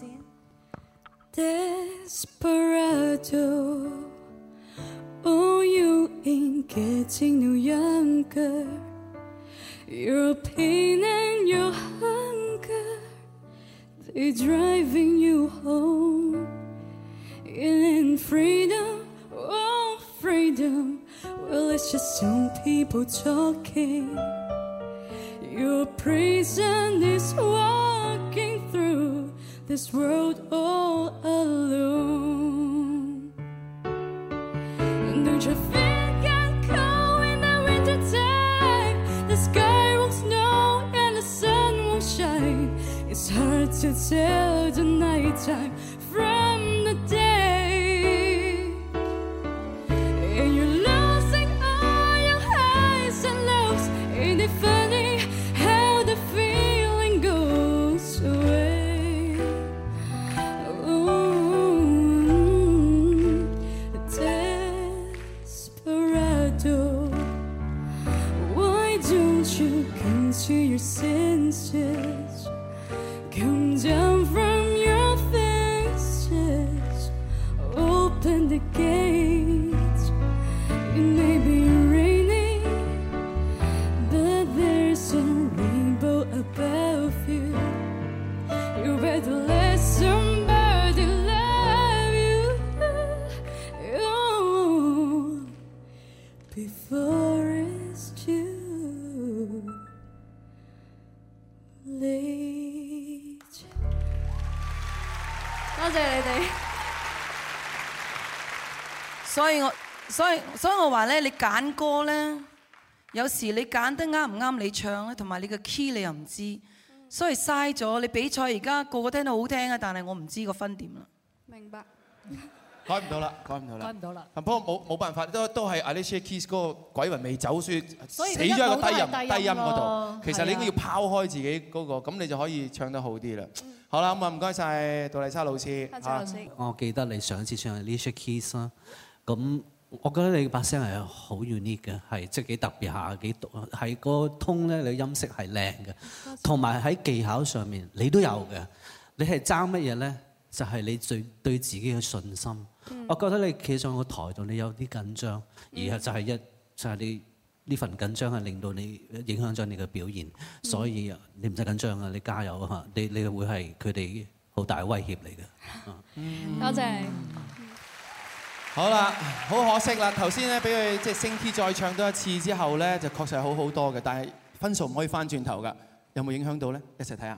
Desperado, oh, you ain't getting no younger. Your pain and your hunger, they're driving you home. And freedom, oh, freedom, well, it's just some people talking. Your prison is walking through this world all alone. Don't you feel get cold in the winter time? The sky won't snow and the sun won't shine. It's hard to tell the nighttime from the day. And you're losing all your highs and lows. Ain't it funny how the feeling goes away? Desperado, why don't you come to your senses? Come down from your fences, open the gates. It may be raining, but there's a rainbow above you. You better let somebody love you, oh, before it's too late. 多謝你哋。 所以我話咧，你揀歌咧，有時你揀得啱唔啱你唱咧，同埋你個 key 你又唔知，所以嘥咗。你比賽而家個個聽到好聽啊，但係我唔知個分點啦。 明白。 改唔到啦，改唔到啦。不過冇辦法，都係 Alicia Keys 嗰個鬼魂未走，所以死咗喺個低音嗰度。其實你應該要拋開自己嗰個，咁你就可以唱得好啲啦。好啦，咁啊唔該曬杜麗莎老師。 我記得你上一次唱 Alicia Keys 啦，咁我覺得你把聲係好 unique 嘅，係即係幾特別下，幾係個 tone 咧，你音色係靚嘅，同埋喺技巧上面你都有嘅。你係爭乜嘢咧？就係你最對自己嘅信心。我覺得你企上個台度，你有啲緊張，而係就係你呢份緊張係令到你影響咗你嘅表現，所以你唔使緊張啊！你加油啊！你會係佢哋好大嘅威脅嚟嘅。 多謝。 好啦，好可惜啦！頭先咧俾佢即係升 key 再唱多一次之後咧，就確實係好好多嘅，但係分數唔可以翻轉頭㗎。有冇影響到咧？一齊睇下。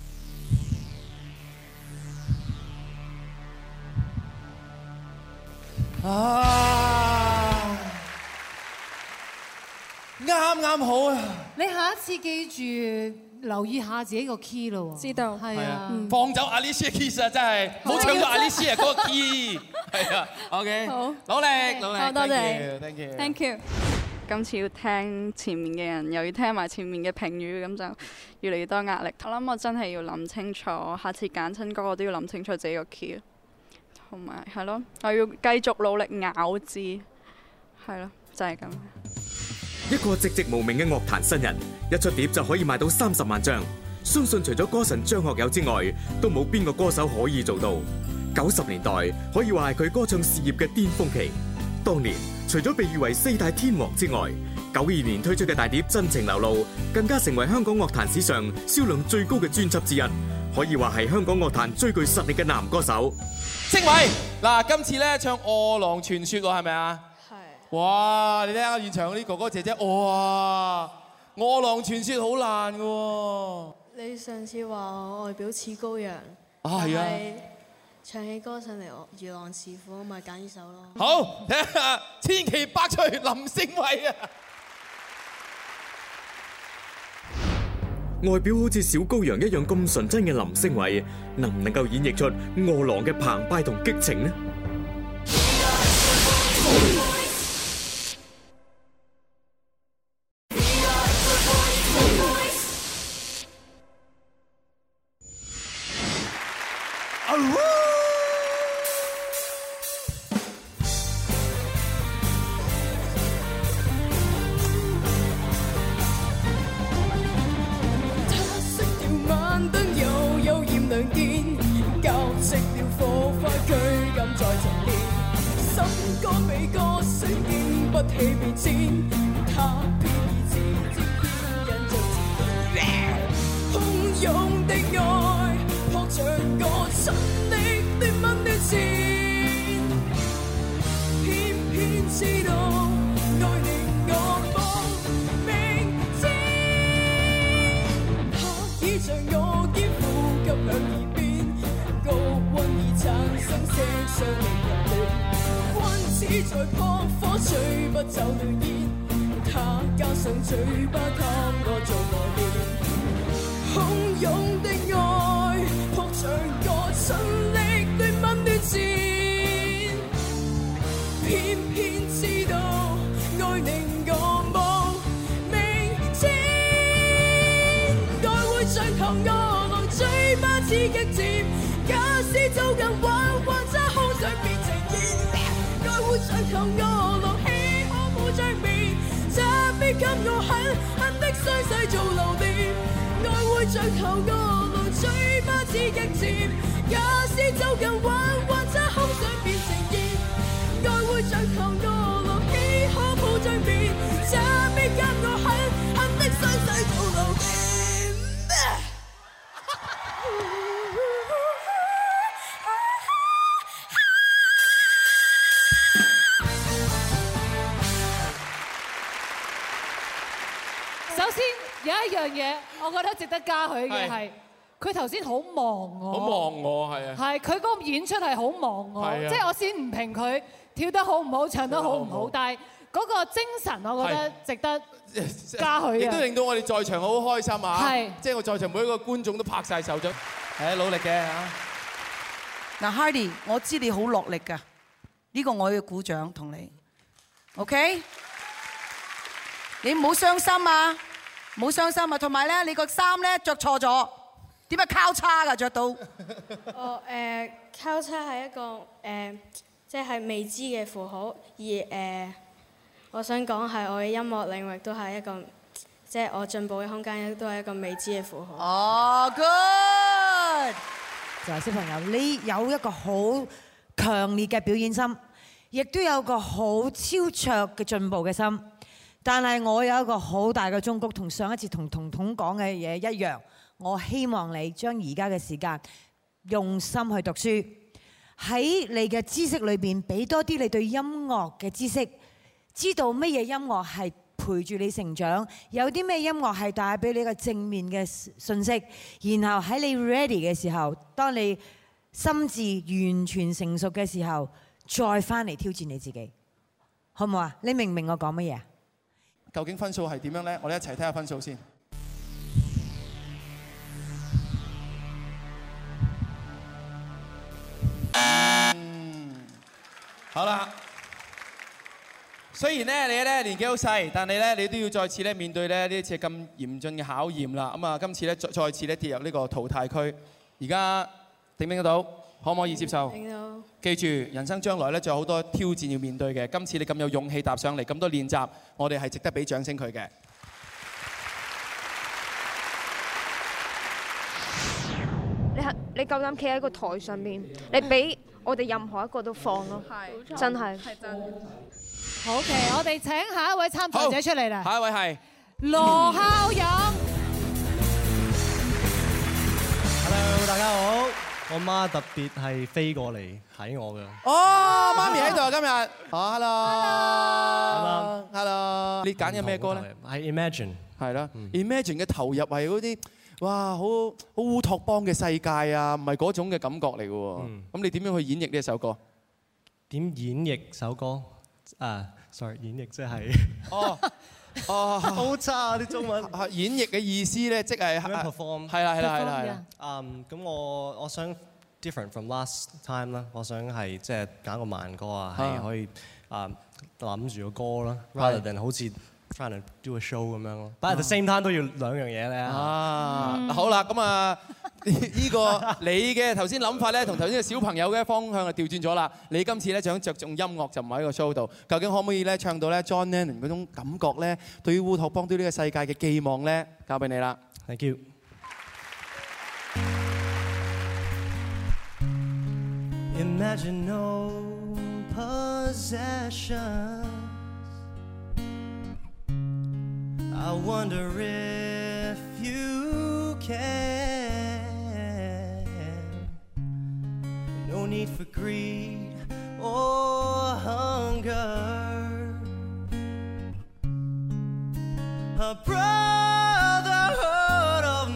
啱好啊！ 你下一次記住留意下自己個 key 咯喎。 知道。 係啊。 放走 Alicia Keys 啊！真係冇唱到 Alicia 嗰個 key。係啊。OK。好。努力。 好，多謝。 Thank you。 今次要聽前面嘅人，又要聽埋前面嘅評語，咁就越嚟越多壓力。我諗我真係要諗清楚，下次揀親歌我都要諗清楚自己個 key。同埋係咯，我要繼續努力咬字，係咯，就係咁。 一個寂寂無名嘅樂壇新人，一出碟就可以賣到30萬張，相信除咗歌神張學友之外，都冇邊個歌手可以做到。90年代可以話係佢歌唱事業嘅巔峰期。當年除咗被譽為4大天王之外，92年推出嘅大碟《真情流露》，更加成為香港樂壇史上銷量最高嘅專輯之一，可以話係香港樂壇最具實力嘅男歌手。 星偉，嗱，今次咧唱《餓狼傳說》喎，係咪啊？係。哇！你睇下現場嗰啲哥哥姐姐，哇！《餓狼傳說》好難嘅喎。 你上次話我外表似羔羊， 係啊。 唱起歌上嚟，我如狼似虎，咪揀呢首咯。 好，睇下千奇百趣林星偉啊！ 外表好似小羔羊一樣咁純真嘅林昇偉，能唔能夠演繹出餓狼嘅澎湃同激情呢？ 我覺得值得嘉許嘅係，佢頭先好望我， 好望我係啊， 係佢嗰個演出係好望我，即係我先唔評佢跳得好唔好、唱得好唔好，但係嗰個精神我覺得值得嘉許， 亦都令到我哋在場好開心啊！ 係， 即係我在場每一個觀眾都拍晒手掌，係努力嘅嚇。 嗱 ，Hardy， 我知你好落力㗎，呢個我要鼓掌同你 ，OK？ 你唔好傷心啊！冇傷心啊，同埋咧，你個衫咧着錯咗，點解交叉㗎着到？ 交叉係一個即係未知嘅符號，而我想講係我嘅音樂領域都係一個，即係我進步嘅空間都係一個未知嘅符號。 哦 ，good！ 就係小朋友，你有一個好強烈嘅表演心，亦都有個好超卓嘅進步嘅心。但係我有一個好大嘅忠告，同上一次同彤彤講嘅嘢一樣，我希望你將而家嘅時間用心去讀書，喺你嘅知識裏邊俾多啲你對音樂嘅知識，知道乜嘢音樂係陪住你成長，有啲咩音樂係帶俾你一個正面嘅信息，然後喺你 ready 嘅時候，當你心智完全成熟嘅時候，再翻嚟挑戰你自己，好唔好啊？你明唔明我講乜嘢啊？ 究竟分數係點樣咧？我哋一齊睇下分數先。好啦。雖然咧你咧年紀好細，但係咧你都要再次咧面對咧呢一次咁嚴峻嘅考驗啦。咁啊，今次咧再次咧跌入呢個淘汰區。而家頂唔頂得到？可唔可以接受？ 頂到。 記住，人生將來咧仲有好多挑戰要面對嘅。今次你咁有勇氣踏上嚟，咁多練習，我哋係值得俾掌聲佢嘅。 你夠膽企喺個台上面，你俾我哋任何一個都放咯，真係。 好嘅，我哋請下一位參賽者出嚟啦。 下一位係羅孝飲。 Hello， 大家好。我媽特別係飛過嚟睇我嘅。 哦，媽咪喺度啊，今日。哦 ，hello。你揀嘅咩歌咧？ 係 Imagine。係啦。 Imagine 嘅投入係嗰啲，哇，好烏托邦嘅世界啊，唔係嗰種嘅感覺嚟嘅喎。咁你點樣去演繹呢一首歌？ 點演繹首歌？sorry， 演繹即係。 哦， 哦， 好差啊啲中文。 演繹嘅意思咧，即係 perform。 係啦。 咁我想 different from last time 啦，我想係即係揀個慢歌啊，係可以諗住個歌啦 ，rather than 好似 trying to do a show 咁樣咯。But at the same time 都要兩樣嘢咧。 好啦，咁啊呢個你嘅頭先諗法咧，同頭先嘅小朋友嘅方向就調轉咗啦。你今次咧想着重音樂，就唔喺個 show 度。究竟可唔可以咧唱到咧 John Lennon 嗰種感覺咧？對於烏托邦對呢個世界嘅寄望咧，交俾你啦。 Thank you。Imagine no possessions. I wonder if you can. No need for greed or hunger. A brotherhood of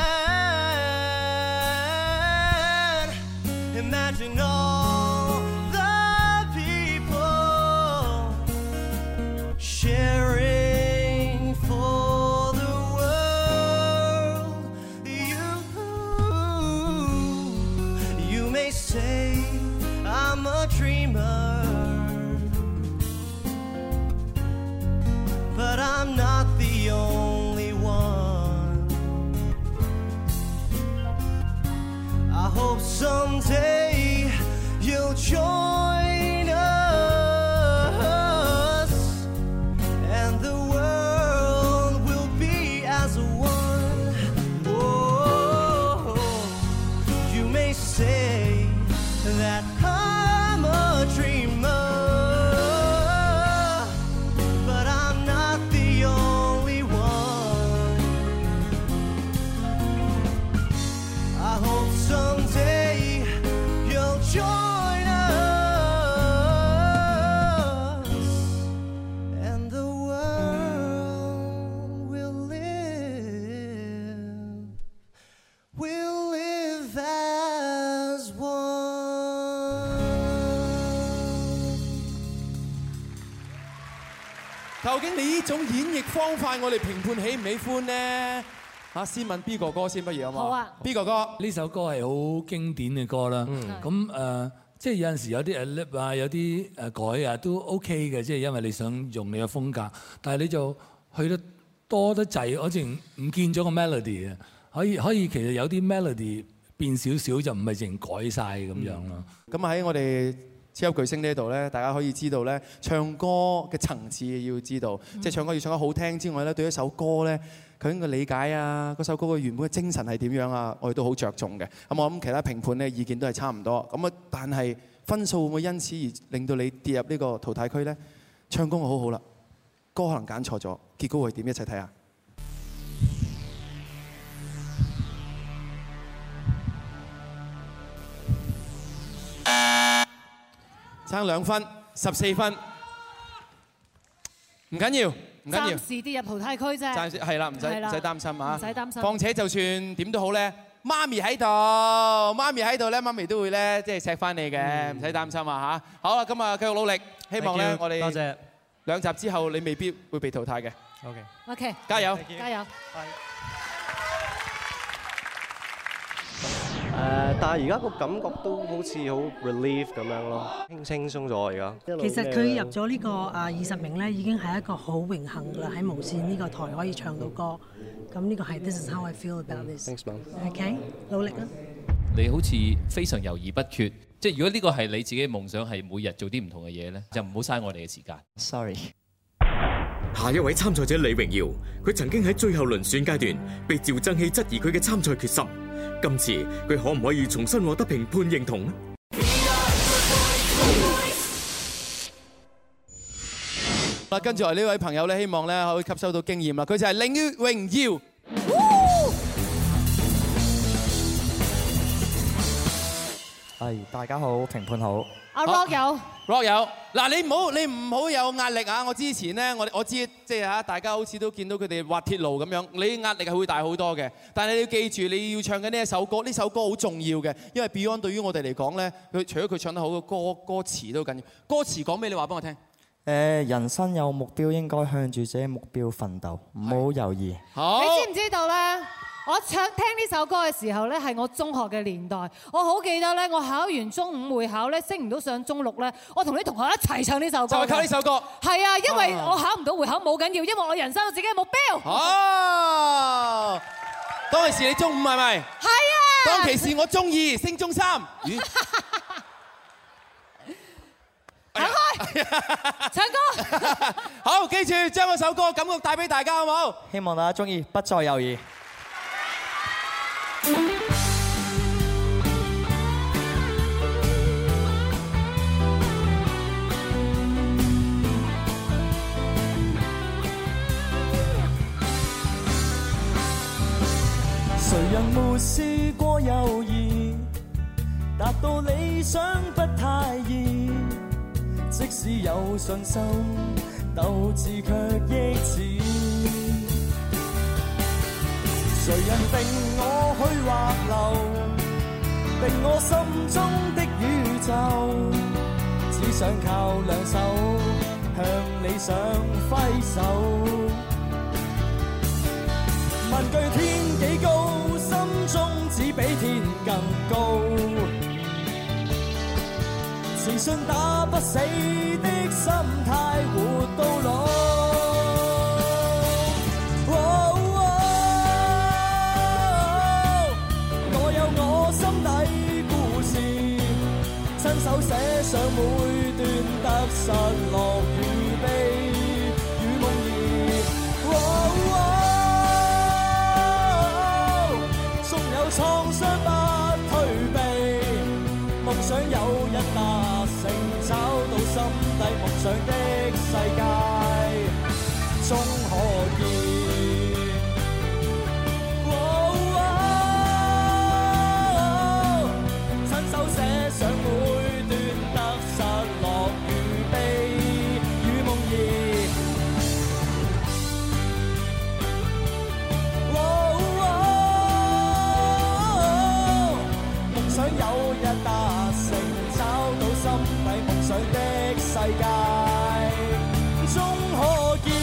man. Imagine all the people sharing for the world. You may say I'm a dreamer, but I'm not the only one. I hope someday you'll join us, and the world will be as one. Oh, you may say that I'm a dreamer, but I'm not the only one. I hope someday you'll join us, and the world will live as one. 究竟你呢種演繹方法，我哋評判喜唔喜歡呢？先問 B 哥哥先，不如好嘛？ 好啊 ，B 哥哥呢首歌係好經典嘅歌啦。咁即係有陣時有啲 lip 啊，有啲改啊，都 OK 嘅，即係因為你想用你嘅風格，但係你就去得多得滯，好似唔見咗個 melody 啊。可以其實有啲 melody 變少少，就唔係淨改晒咁樣咯。 咁喺我哋超級巨星呢度咧，大家可以知道咧，唱歌嘅層次要知道，即係唱歌要唱得好聽之外咧，對一首歌咧，究竟嘅理解啊，嗰首歌嘅原本嘅精神係點樣啊，我哋都好着重嘅。咁我諗其他評判咧意見都係差唔多。咁啊，但係分數會唔會因此而令到你跌入呢個淘汰區咧？唱功好好啦，歌可能揀錯咗，結果會點？一齊睇下。爭2分，14分，唔緊要，唔緊要。 暫時跌入淘汰區啫。 暫時係啦，唔使擔心啊。 唔使擔心。 況且就算點都好咧，媽咪喺度，媽咪喺度咧，媽咪都會咧即係錫翻你嘅，唔使擔心啊嚇。好啦，咁啊繼續努力，希望咧我哋多謝 2集之後你未必會被淘汰嘅。 OK， 加油， 加油。 但係而家個感覺都好似好 relief 咁樣咯，輕鬆咗而家。 其實佢入咗呢個20名咧，已經係一個好榮幸㗎啦，喺無線呢個台可以唱到歌。咁呢個係 This is how I feel about this。 Thanks man。 OK， 努力啦。 你好似非常猶豫不決，即係如果呢個係你自己嘅夢想，係每日做啲唔同嘅嘢咧，就唔好嘥我哋嘅時間。 Sorry。 下一位參賽者李榮耀，佢曾經喺最後輪選階段被趙增熹質疑佢嘅參賽決心。今次佢可唔可以重新獲得評判認同呢？ 跟住嚟呢位朋友咧，希望咧可以吸收到經驗啦。佢就係李榮耀。 大家好，評判好。 阿 Rock 有 ，Rock 有。嗱，你唔好有壓力啊！我之前咧，我知即係嚇，大家好似都見到佢哋滑鐵盧咁樣，你壓力係會大好多嘅。但係你要記住，你要唱緊呢一首歌，呢首歌好重要嘅，因為 Beyond 對於我哋嚟講咧，佢除咗佢唱得好嘅歌詞都緊要。歌詞講咩？你話俾我聽。 人生有目標應該向住自己目標奮鬥，唔好猶豫。 你知唔知道咧？我聽呢首歌嘅時候咧，係我中學嘅年代。我好記得咧，我考完中5會考咧，升唔到上中6咧，我同啲同學一齊唱呢首歌。 就係靠呢首歌。 係啊，因為我考唔到會考冇緊要，因為我人生有自己嘅目標。 哦，當其時你中5係咪？係啊。 當其時我中2升中3。 行開，唱歌。 好，記住將嗰首歌感覺帶俾大家，好唔好？ 希望大家中意，不再猶豫。 誰人沒試過猶豫，達到理想不太易。即使有信心，鬥志卻益止。誰人定我去或留，定我心中的宇宙？只想靠兩手向理想揮手。問句天幾高，心中只比天更高。自信打不死的心態，活到老。我有我心底故事，親手寫上每段得失樂與悲與夢兒。縱有創傷不退避，夢想有日達成，找到心底夢想的世界，終可見。親手寫上每段得失樂與悲與夢兒。夢想有日達成，找到心底夢想的世界，終可見。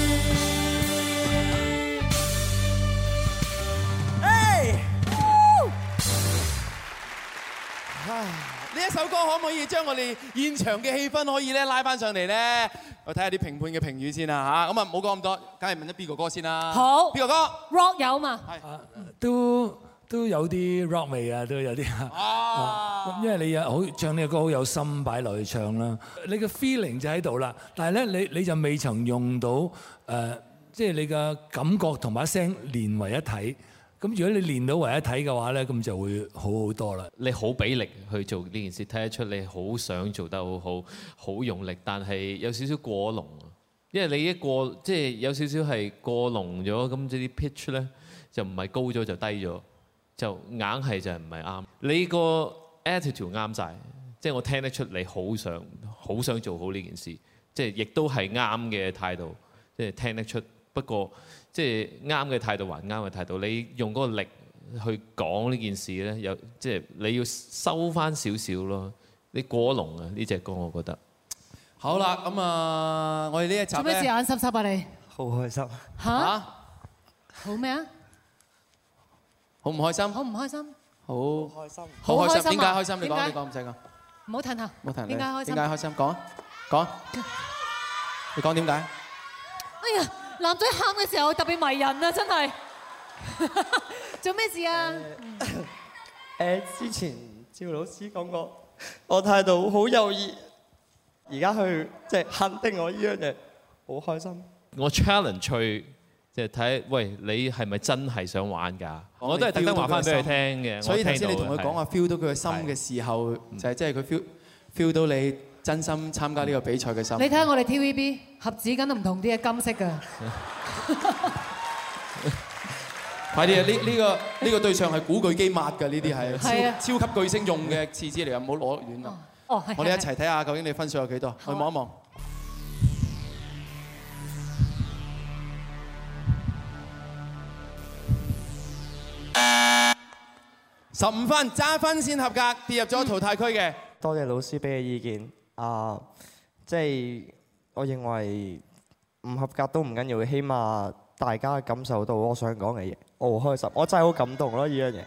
呢一首歌可唔可以將我哋現場嘅氣氛可以咧拉翻上嚟咧？我睇下啲評判嘅評語先啦嚇。咁啊唔好講咁多，梗係問咗邊個歌先啦。 好， 邊個歌 ？Rock 有嘛？ 都有啲 rock 味啊，都有啲因為你有好唱呢個歌好有心擺落去唱啦，你嘅 feeling 就喺度啦。但係咧，你就未曾用到即係你嘅感覺同把聲連為一體。咁如果你練到為一體嘅話咧，咁就會好好多啦。 你好俾力去做呢件事，睇得出你好想做得好好，好用力，但係有少少過龍啊。因為你一過即係有少少係過龍咗，咁即啲 pitch 咧就唔係高咗就低咗，就硬係就係唔係啱。你個 attitude 啱晒，即係我聽得出你好想做好呢件事，即係亦都係啱嘅態度，即係聽得出。不過即係啱嘅態度還啱嘅態度，你用嗰個力去講呢件事咧，有即係你要收翻少少咯。你過龍啊呢隻歌，我覺得。 好啦，咁啊，我哋呢一集咧。做咩事眼濕濕啊你？ 好開心。 嚇？好咩啊？ 好唔開心？ 好唔開心？ 好開心。好開心。點解開心？你講唔使講。 唔好褪下。 唔好褪。 點解開心？ 點解開心？講啊！講。你講點解？ 哎呀！男仔喊嘅時候特別迷人啊！真係做咩事啊？ 之前趙老師講過，我態度好猶豫，而家去即係肯定我呢樣嘢，好開心。 我 challenge 佢，即係睇，喂，你係咪真係想玩㗎？我都係特登話翻俾佢聽嘅。 所以頭先你同佢講話 feel 到佢嘅心嘅時候，就係即係佢 feel 到你真心參加呢個比賽嘅心。 你睇下我哋 TVB 盒子梗都唔同啲嘅，金色㗎。 快啲啊！呢個對象係古巨基抹㗎，呢啲係超級巨星用嘅廁紙嚟㗎，唔好攞遠啦。 哦， 我哋一齊睇下究竟你分數有幾多，去望一望。15分，揸分先合格，跌入咗淘汰區嘅。 多謝老師俾嘅意見。即係我認為唔合格都唔緊要，起碼大家感受到我想講嘅嘢，我好開心，我真係好感動咯呢樣嘢。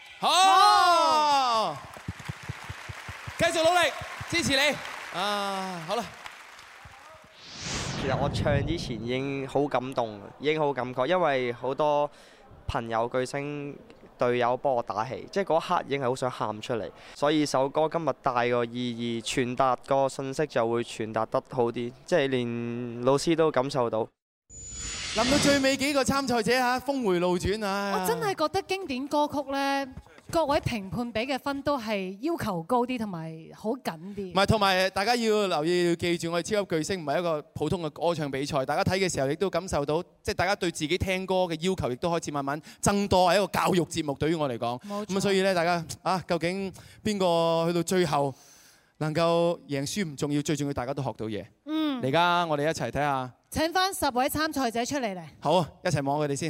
好，繼續努力，支持你。好啦。 其實我唱之前已經好感動，已經好感覺，因為好多朋友巨星隊友幫我打氣，即係嗰刻已經係好想喊出嚟，所以首歌今日帶個意義，傳達個信息就會傳達得好啲，即係連老師都感受到。 諗到最尾幾個參賽者嚇，峰迴路轉啊！ 我真係覺得經典歌曲咧，各位評判俾嘅分都係要求高啲，同埋好緊啲。 唔係，同埋大家要留意，要記住，我哋超級巨星唔係一個普通嘅歌唱比賽。大家睇嘅時候，亦都感受到，即係大家對自己聽歌嘅要求，亦都開始慢慢增多，係一個教育節目。對於我嚟講，咁所以咧，大家究竟邊個去到最後能夠贏輸唔重要，最重要大家都學到嘢。嚟家我哋一齊睇下。 請翻10位參賽者出嚟嚟。 好啊，一齊望佢哋先。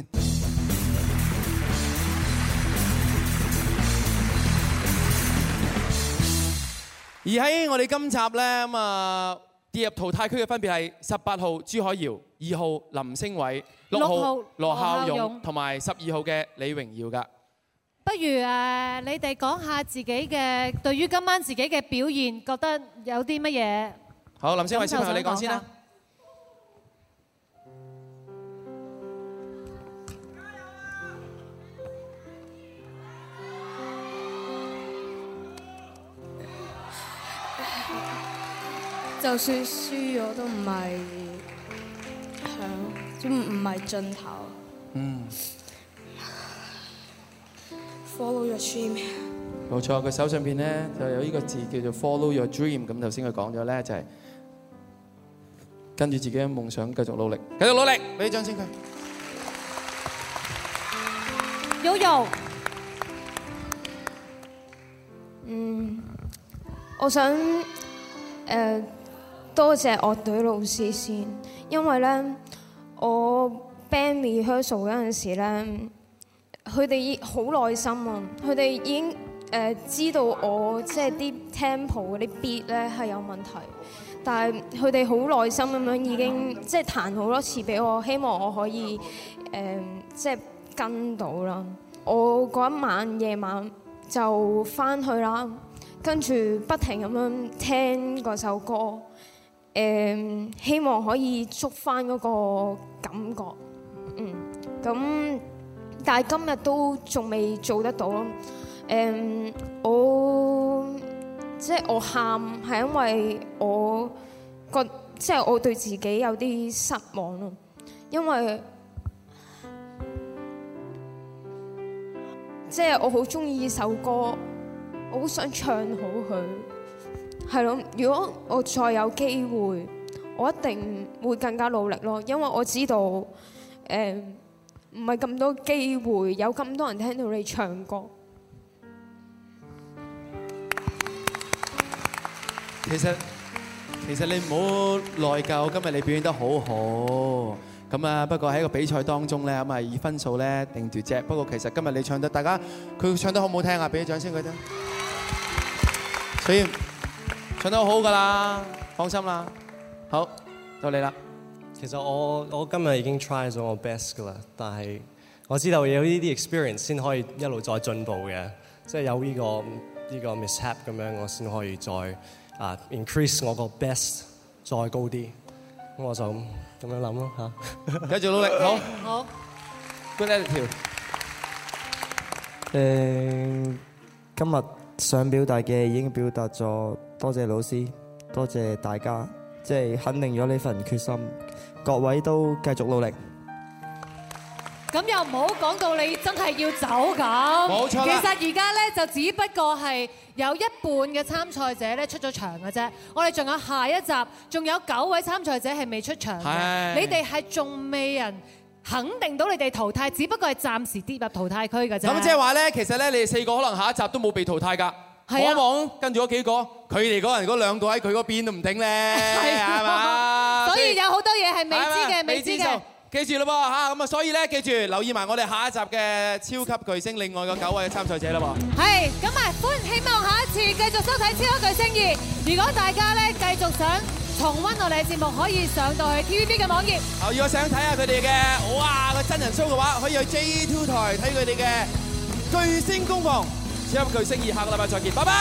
而喺我哋今集咧跌入淘汰區嘅分別係18號朱海瑤、2號林星偉、6號羅孝勇同埋12號嘅李榮耀㗎。 不如你哋講下自己嘅對於今晚自己嘅表現，覺得有啲乜嘢？ 好，林星偉小朋友你講先啦。 就算輸咗都唔係都唔係盡頭。Follow your dream。 冇錯，佢手上邊咧就有呢個字叫做 Follow your dream。咁頭先佢講咗咧就係跟住自己嘅夢想繼續努力，繼續努力，俾啲掌聲佢。 Yoyo。 我想多謝樂隊老師先，因為咧我 band rehearsal 嗰陣時咧，佢哋好耐心啊，佢哋已經知道我即係啲 tempo 嗰啲 beat 咧係有問題，但係佢哋好耐心咁樣已經即係彈好多次俾我，希望我可以即係跟到啦。我嗰一晚夜晚就翻去啦，跟住不停咁樣聽嗰首歌。希望可以捉翻嗰個感覺，咁但係今日都仲未做得到咯。我喊係因為我即係我對自己有啲失望咯，因為即係我好中意呢首歌，我好想唱好佢。係咯，如果我再有機會，我一定會更加努力咯。因為我知道，唔係咁多機會，有咁多人聽到你唱歌。 其實你唔好內疚，今日你表現得好好。咁不過喺個比賽當中咧，咁以分數咧定奪啫。不過其實今日你唱得，大家佢唱得好唔好聽啊？俾啲掌聲佢聽。所以唱得好㗎啦，放心啦。好，到你啦。 其實我今日已經 try 咗我 best 㗎啦，但係我知道有呢啲 experience 先可以一路再進步嘅，即係有呢個 mishap 咁樣，我先可以再increase 我個 best 再高啲。咁我就咁樣諗咯嚇。 繼續努力，好。Good attitude。 今日想表達嘅已經表達咗，多謝老師，多謝大家，即係肯定咗呢份決心，各位都繼續努力。 咁又唔好講到你真係要走咁。 冇錯啦。 其實而家咧就只不過係有一半嘅參賽者咧出咗場嘅啫。我哋仲有下一集，仲有9位參賽者係未出場嘅。你哋係仲未人肯定到你哋淘汰，只不過係暫時跌入淘汰區嘅啫。 咁即係話咧，其實咧你哋4個可能下一集都冇被淘汰㗎。望一望跟住嗰幾個，佢哋嗰人嗰2個喺佢嗰邊都唔頂咧，係嘛？ 所以有好多嘢係未知嘅，未知嘅。 記住咯噃嚇，咁所以咧記住留意埋我哋下一集嘅超級巨星另外嘅9位嘅參賽者啦噃。 係，咁希望下一次繼續收睇超級巨星2。如果大家咧繼續想重溫我哋嘅節目，可以上到去 TVB 嘅網頁。 如果想睇下佢哋嘅哇個真人 show 嘅話，可以去 J2 台睇佢哋嘅巨星攻防超級巨星2，下個禮拜再見，拜拜。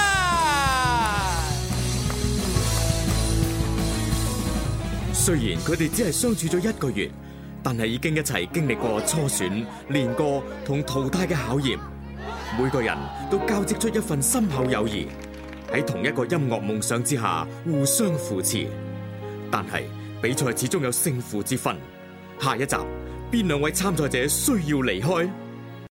雖然佢哋只係相處咗1個月，但係已經一齊經歷過初選、練歌同淘汰嘅考驗。每個人都交織出一份深厚友誼，喺同一個音樂夢想之下互相扶持。但係比賽始終有勝負之分。下一集邊2位參賽者需要離開？